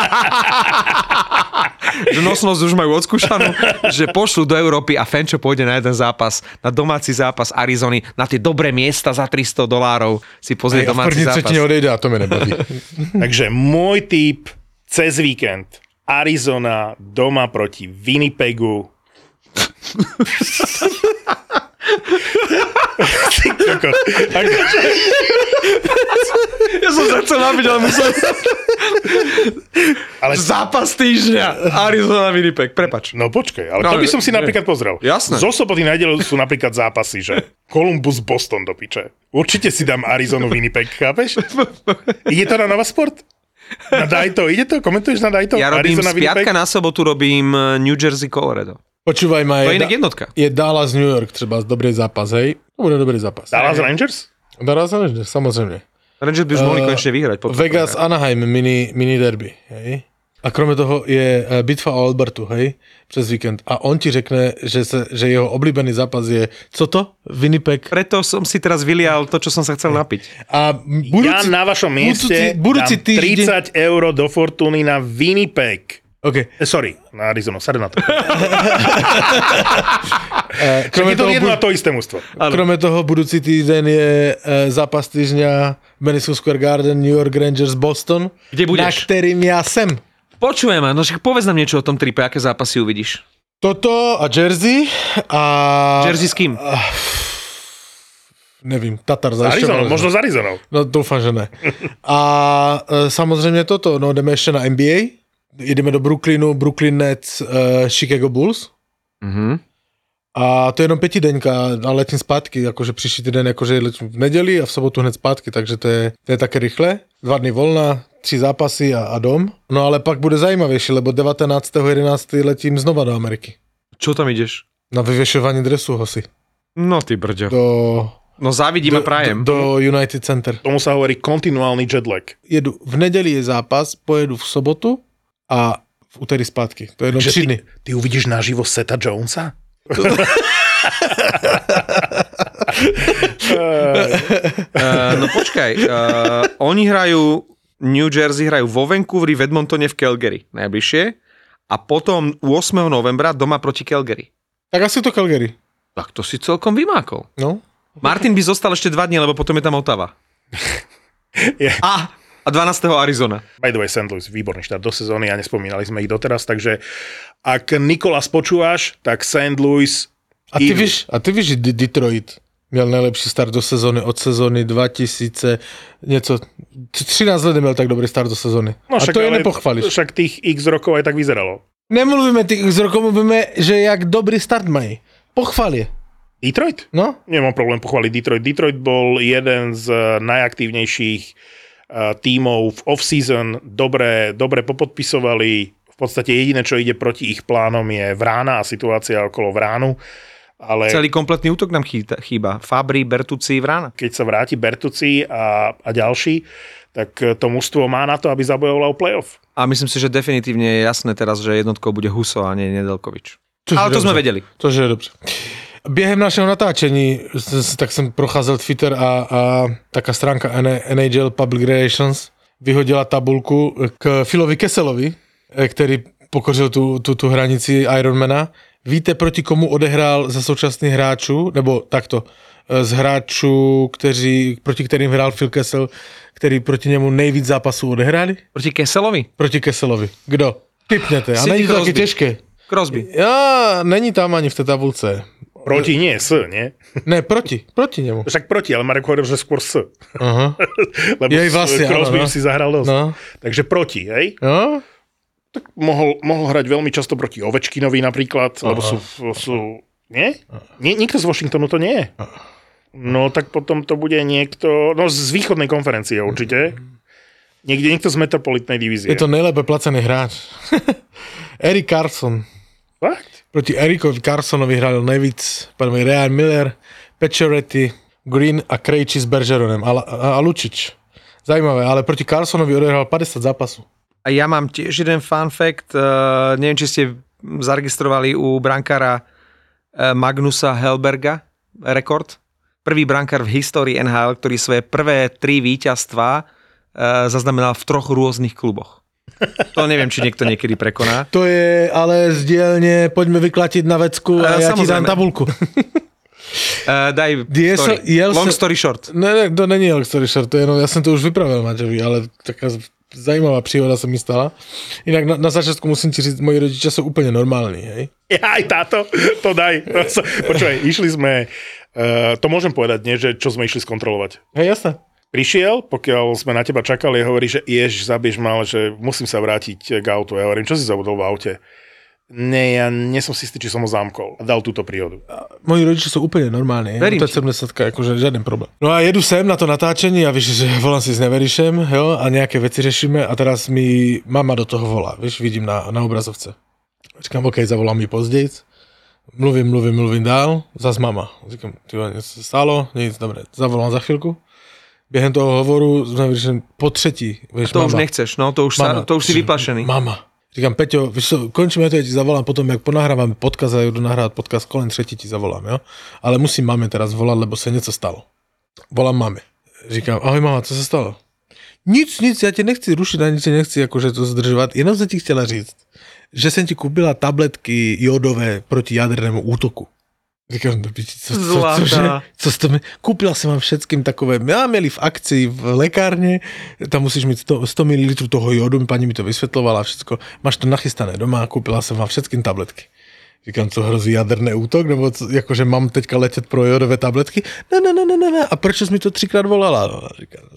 že nosnosť už majú odskúšanú, že pošlu do Európy a fenčo pôjde na jeden zápas, na domáci zápas Arizony, na tie dobré miesta za tristo dolárov si pozrie Aj, a v domáci první zápas. třetině odejde a to mi nebaví. Takže môj tip cez víkend Arizona doma proti Winnipegu. Ja som sa chcel napiť, ale musel som... Ale... Zápas týždňa. Arizona Winnipeg, prepač. No počkaj, ale No, to by som si nie. napríklad pozrel. Jasné. Zo soboty na nedeľu sú napríklad zápasy, že Columbus Boston do piče. Určite si dám Arizonu Winnipeg, chápeš? Ide to na Nova Sport? Na Dajto, ide to? Komentuješ na Dajto? Ja robím Arizona z piatka Winnipeg? na sobotu robím New Jersey Colorado. Počúvaj ma, To je je, inak da- jednotka. je Dallas New York, treba dobrý zápas, hej? To bude dobrý zápas. Dallas Rangers? Dallas Rangers, samozrejme. Rangers by už mohli Uh, konečne vyhrať. potom. Vegas Anaheim, mini, mini derby, hej? A kromě toho je eh, bitva o Albertu, hej? Přes víkend. A on ti řekne, že, se, že jeho oblíbený zápas je, co to? Winnipeg. Preto som si teraz vylial to, čo som sa chcel napiť. A budúci, Ja na vašom mieste budúci, budúci dám týždeň... tridsať eur do Fortuny na Winnipeg. OK. Eh, sorry, na Arizonu, sadu na to. Eh, Však kromě, je to toho, jedno a bu- to isté mužstvo. kromě toho budúci týden je eh, zápas týždňa v Madison Square Garden, New York Rangers, Boston. Kde budeš? Na kterým ja sem. Počujem, no však povedz nám niečo o tom tripe, aké zápasy uvidíš. Toto a Jersey a... Jersey s kým? Nevím, Tatar S zajišťoval. Arizonou, možno s Arizonou. No doufám, že ne. A e, samozřejmě toto, no jdeme ještě na N B A, jdeme do Brooklynu, Brooklyn Nets, e, Chicago Bulls. Mhm. A to je jenom pětidenka a letím zpátky, jakože příští týden jakože letím v neděli a v sobotu hned zpátky, takže to je, to je také rychle. Dva dny volna, tři zápasy a, a dom. No ale pak bude zajímavější, lebo devatenáctého jedenáctého letím znova do Ameriky. Čo tam ideš? Na vyvěšování dresu hosi. No ty brďo. Do, No závidím a do, prajem. do United Center. Tomu sa hovorí kontinuálny jetlag. Jedu, v neděli je zápas, pojedu v sobotu a v úterý zpátky. To je jenom Že tři ty, dny. ty uvidíš naživo Seta Jonesa? Uh, no počkaj, uh, oni hrajú, New Jersey hrajú vo Vancouveri, v Edmontone, v Calgary najbližšie a potom ôsmeho novembra doma proti Calgary. Tak asi to Calgary. Tak to si celkom vymákol. No. Martin by zostal ešte dva dní, lebo potom je tam Ottawa. Je. A, a dvanásteho Arizona. By the way, Saint Louis, výborný štart do sezóny a nespomínali sme ich doteraz, takže ak Nikolas počúvaš, tak Saint Louis... A ty idú. víš, a ty víš, že D- Detroit měl nejlepší start do sezóny od sezóny dva tisíce, něco, třináct let neměl tak dobrý start do sezóny. No, a to je ale nepochválíš. Však tých x rokov aj tak vyzeralo. Nemluvíme tých z rokov, mluvíme, že jak dobrý start mají. Pochvál je. Detroit? No? Nemám problém pochváliť Detroit. Detroit bol jeden z najaktívnejších uh, tímov v off-season. Dobre, dobre popodpisovali. V podstate jediné, čo ide proti ich plánom je Vrána a situácia okolo Vránu. Ale Celý kompletný útok nám chýba. chýba. Fabri, Bertucci, Vrána. keď sa vráti Bertucci a, a ďalší, tak to mužstvo má na to, aby zabojovalo playoff. A myslím si, že definitívne je jasné teraz, že jednotkou bude Huso a nie Nedelkovič. Což Ale je to sme dobře. vedeli. Což je dobře. Během našeho natáčení s- tak jsem procházel Twitter a, a taká stránka N H L Public Relations vyhodila tabulku k Philovi Kesselovi, který pokořil tu, tu, tu hranici Ironmana. Víte, proti komu odehrál ze současných hráčů, nebo takto, z hráčů, kteří, proti kterým hrál Phil Kessel, který proti němu nejvíc zápasů odehráli? Proti Kesselovi? Proti Kesselovi. Kdo? Typněte. A Sidney není to taky Crosby. těžké. Crosby. Já, není tam ani v té tabulce. Proti nie, s, nie? Ne, proti, proti němu. Však proti, ale Marek hovoril, že skôr s. Aha. Lebo Jej, s vlastne, Crosby áno, no. si zahral dosť. No. Takže proti, hej? No, Tak mohol, mohol hrať veľmi často proti Ovečkinovi napríklad, lebo sú, sú... Nie? nie? Nikto z Washingtonu to nie je. No tak potom to bude niekto... No z východnej konferencie určite. Niekde niekto z metropolitnej divízie. je to nejlépe placený hráč. Erik Carson. Fakt? Proti Erikovi Carsonovi hrál nejvíc první Ryan Miller, Pacioretty, Green a Krejči s Bergeronem a, a, a Lučič. Zajímavé, ale proti Carsonovi odehrál päťdesiat zápasov. A ja mám tiež jeden fun fact. Uh, neviem, či ste zaregistrovali u brankára uh, Magnusa Hellberga rekord. Prvý brankár v histórii N H L, ktorý svoje prvé tri víťazstvá uh, zaznamenal v troch rôznych kluboch. To neviem, či niekto niekedy prekoná. To je ale z dielne, poďme vyklatiť na vecku a E, ja ti dám samozrejme. tabulku. Uh, daj Die story. so- jel Long se- story short. Ne, ne, to není long story short, to je jenom, ja som to už vypravil Maťovi, ale taká zajímavá príhoda sa mi stala. Inak na, na začiatku musím ti říct, moji rodičia sú úplne normálni, hej? Ja, aj táto, to daj. Počúvaj, išli sme Uh, to môžem povedať, nie, že čo sme išli skontrolovať. Hej, jasné. Prišiel, pokiaľ sme na teba čakali, hovorí, že ježiš, zabiješ ma, ale že musím sa vrátiť k autu. Ja hovorím, čo si zabudol v aute? Nie, ja nie som si istý, či som ho zamkol. A dal túto príhodu. Moji rodiči sú úplne normálni. Verím to je sedemdesiatka, akože žiaden problém. No a jedu sem na to natáčenie a víš, že volám si s Neverišem, jo, a nejaké veci řešíme a teraz mi mama do toho volá, víš, vidím na, na obrazovce. Říkám, OK, zavolám mi pozdejc. Mluvím, mluvím, mluvím dál, zas mama. Říkám, ty něco se stalo, nic, dobre, zavolám za chvíľku. Během toho hovoru sme vyšli po třetí. Vieš, to mama, už nechceš, no to už, sa, to už si vyplašený. Mama. Říkám, Peťo, víš co, končíme to, ja ti zavolám potom, jak ponahrávame podcast a jdu nahrávať podcast, kolem třetí ti zavolám, jo? Ale musím mame teraz volať, lebo sa něco stalo. Volám mame. Říkám, ahoj mama, co se stalo? Nic, nic, ja ti nechci rušiť, ani ti nechci akože to zdržovať, jenom som ti chcela říct, že som ti kúpila tabletky jodové proti jadernému útoku. Říkám, co, co, co, cože? Co to mi... Kúpila som vám všetkým takové, ja mieli v akcii v lekárne, tam musíš mít sto, sto mililitrov toho jodu, pani mi to vysvetľovala všetko, máš to nachystané doma, kúpila som vám všetkým tabletky. Říkám, co hrozí jaderný útok, nebo co, akože mám teďka letět pro jodové tabletky? Ne, ne, ne, ne, ne, a proč jsi mi to třikrát volala? No, říkám,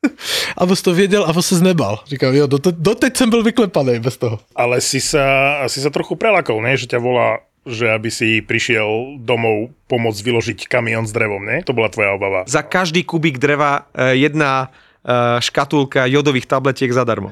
a vos to věděl a vos se znebal. Říkám, jo, doteď, doteď jsem byl vyklepaný bez toho. Ale si sa, si sa trochu prelakol, ne? Že ťa volá, že aby si prišiel domov pomôcť vyložiť kamión s drevom, ne? To bola tvoja obava. Za každý kubík dreva jedna škatulka jodových tabletiek zadarmo.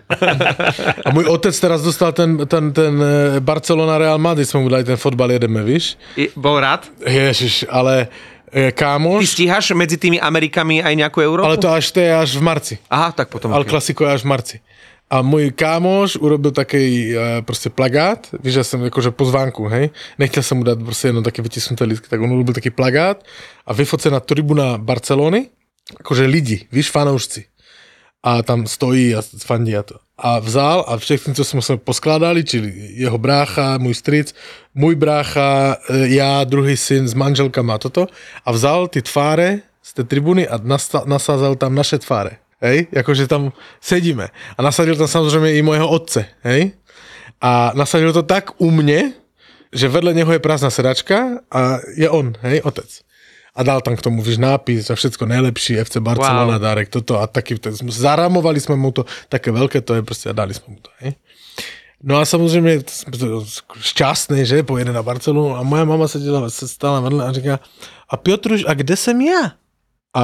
A môj otec teraz dostal ten, ten, ten Barcelona Real Madrid, sme mu dali ten fotbal, jedeme, víš? I, bol rád? Ježiš, ale kámoš... Ty stíhaš medzi tými Amerikami aj nejakú Európu? Ale to až, to je až v marci. Aha, tak potom. Ale klasiko je až v marci. A môj kámoš urobil taký uh, proste plagát, víš, ja som akože pozvánku, hej, nechtěl som mu dať proste jedno také vytisnuté lístky, tak on urobil taký plagát a vyfocená tribuna Barcelony, akože lidi, víš, fanoušci. A tam stojí a fandí a to. A vzal a všechny, co sme poskládali, čili jeho brácha, môj stric, môj brácha, ja, druhý syn s manželkama a toto, a vzal ty tváre z tej tribuny a nasta- nasázal tam naše tváre. Hej, akože tam sedíme. A nasadil tam samozrejme i môjho otce, hej. A nasadil to tak u mne, že vedle neho je prázdna sedačka a je on, hej, otec. A dal tam k tomu, víš, nápis a všetko najlepší, ef cé Barcelona, wow. Dárek, toto a taký, zaramovali sme mu to, také veľké to je proste a dali sme mu to, hej. No a samozrejme, šťastný, že, pojede na Barcelonu a moja mama sedela, sa stála vedle a říká, a Piotruš, a kde som ja? A...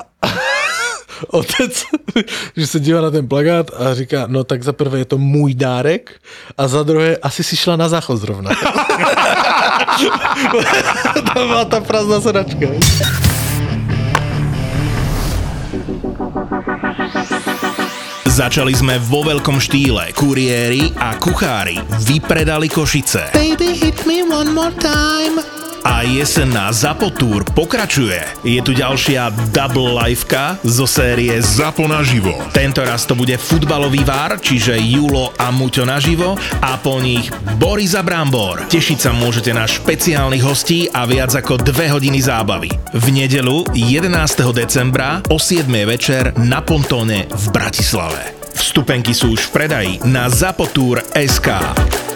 Otec, že sa díva na ten plagát a říká, no tak za prvé je to môj dárek a za druhé asi si šla na záchod zrovna. Tam má tá prázdna sedačka. Začali sme vo veľkom štýle. Kuriéri a kuchári vypredali Košice. Baby, hit me one more time. A jesenná Zapo Tour pokračuje. Je tu ďalšia double liveka zo série Zapo naživo. Tento raz to bude futbalový vár, čiže Julo a Muťo naživo a po nich Boris a Brambor. Tešiť sa môžete na špeciálnych hostí a viac ako dve hodiny zábavy. V nedeľu jedenásteho decembra o siedmej večer na Pontóne v Bratislave. Vstupenky sú už v predaji na zapotour bodka es ká.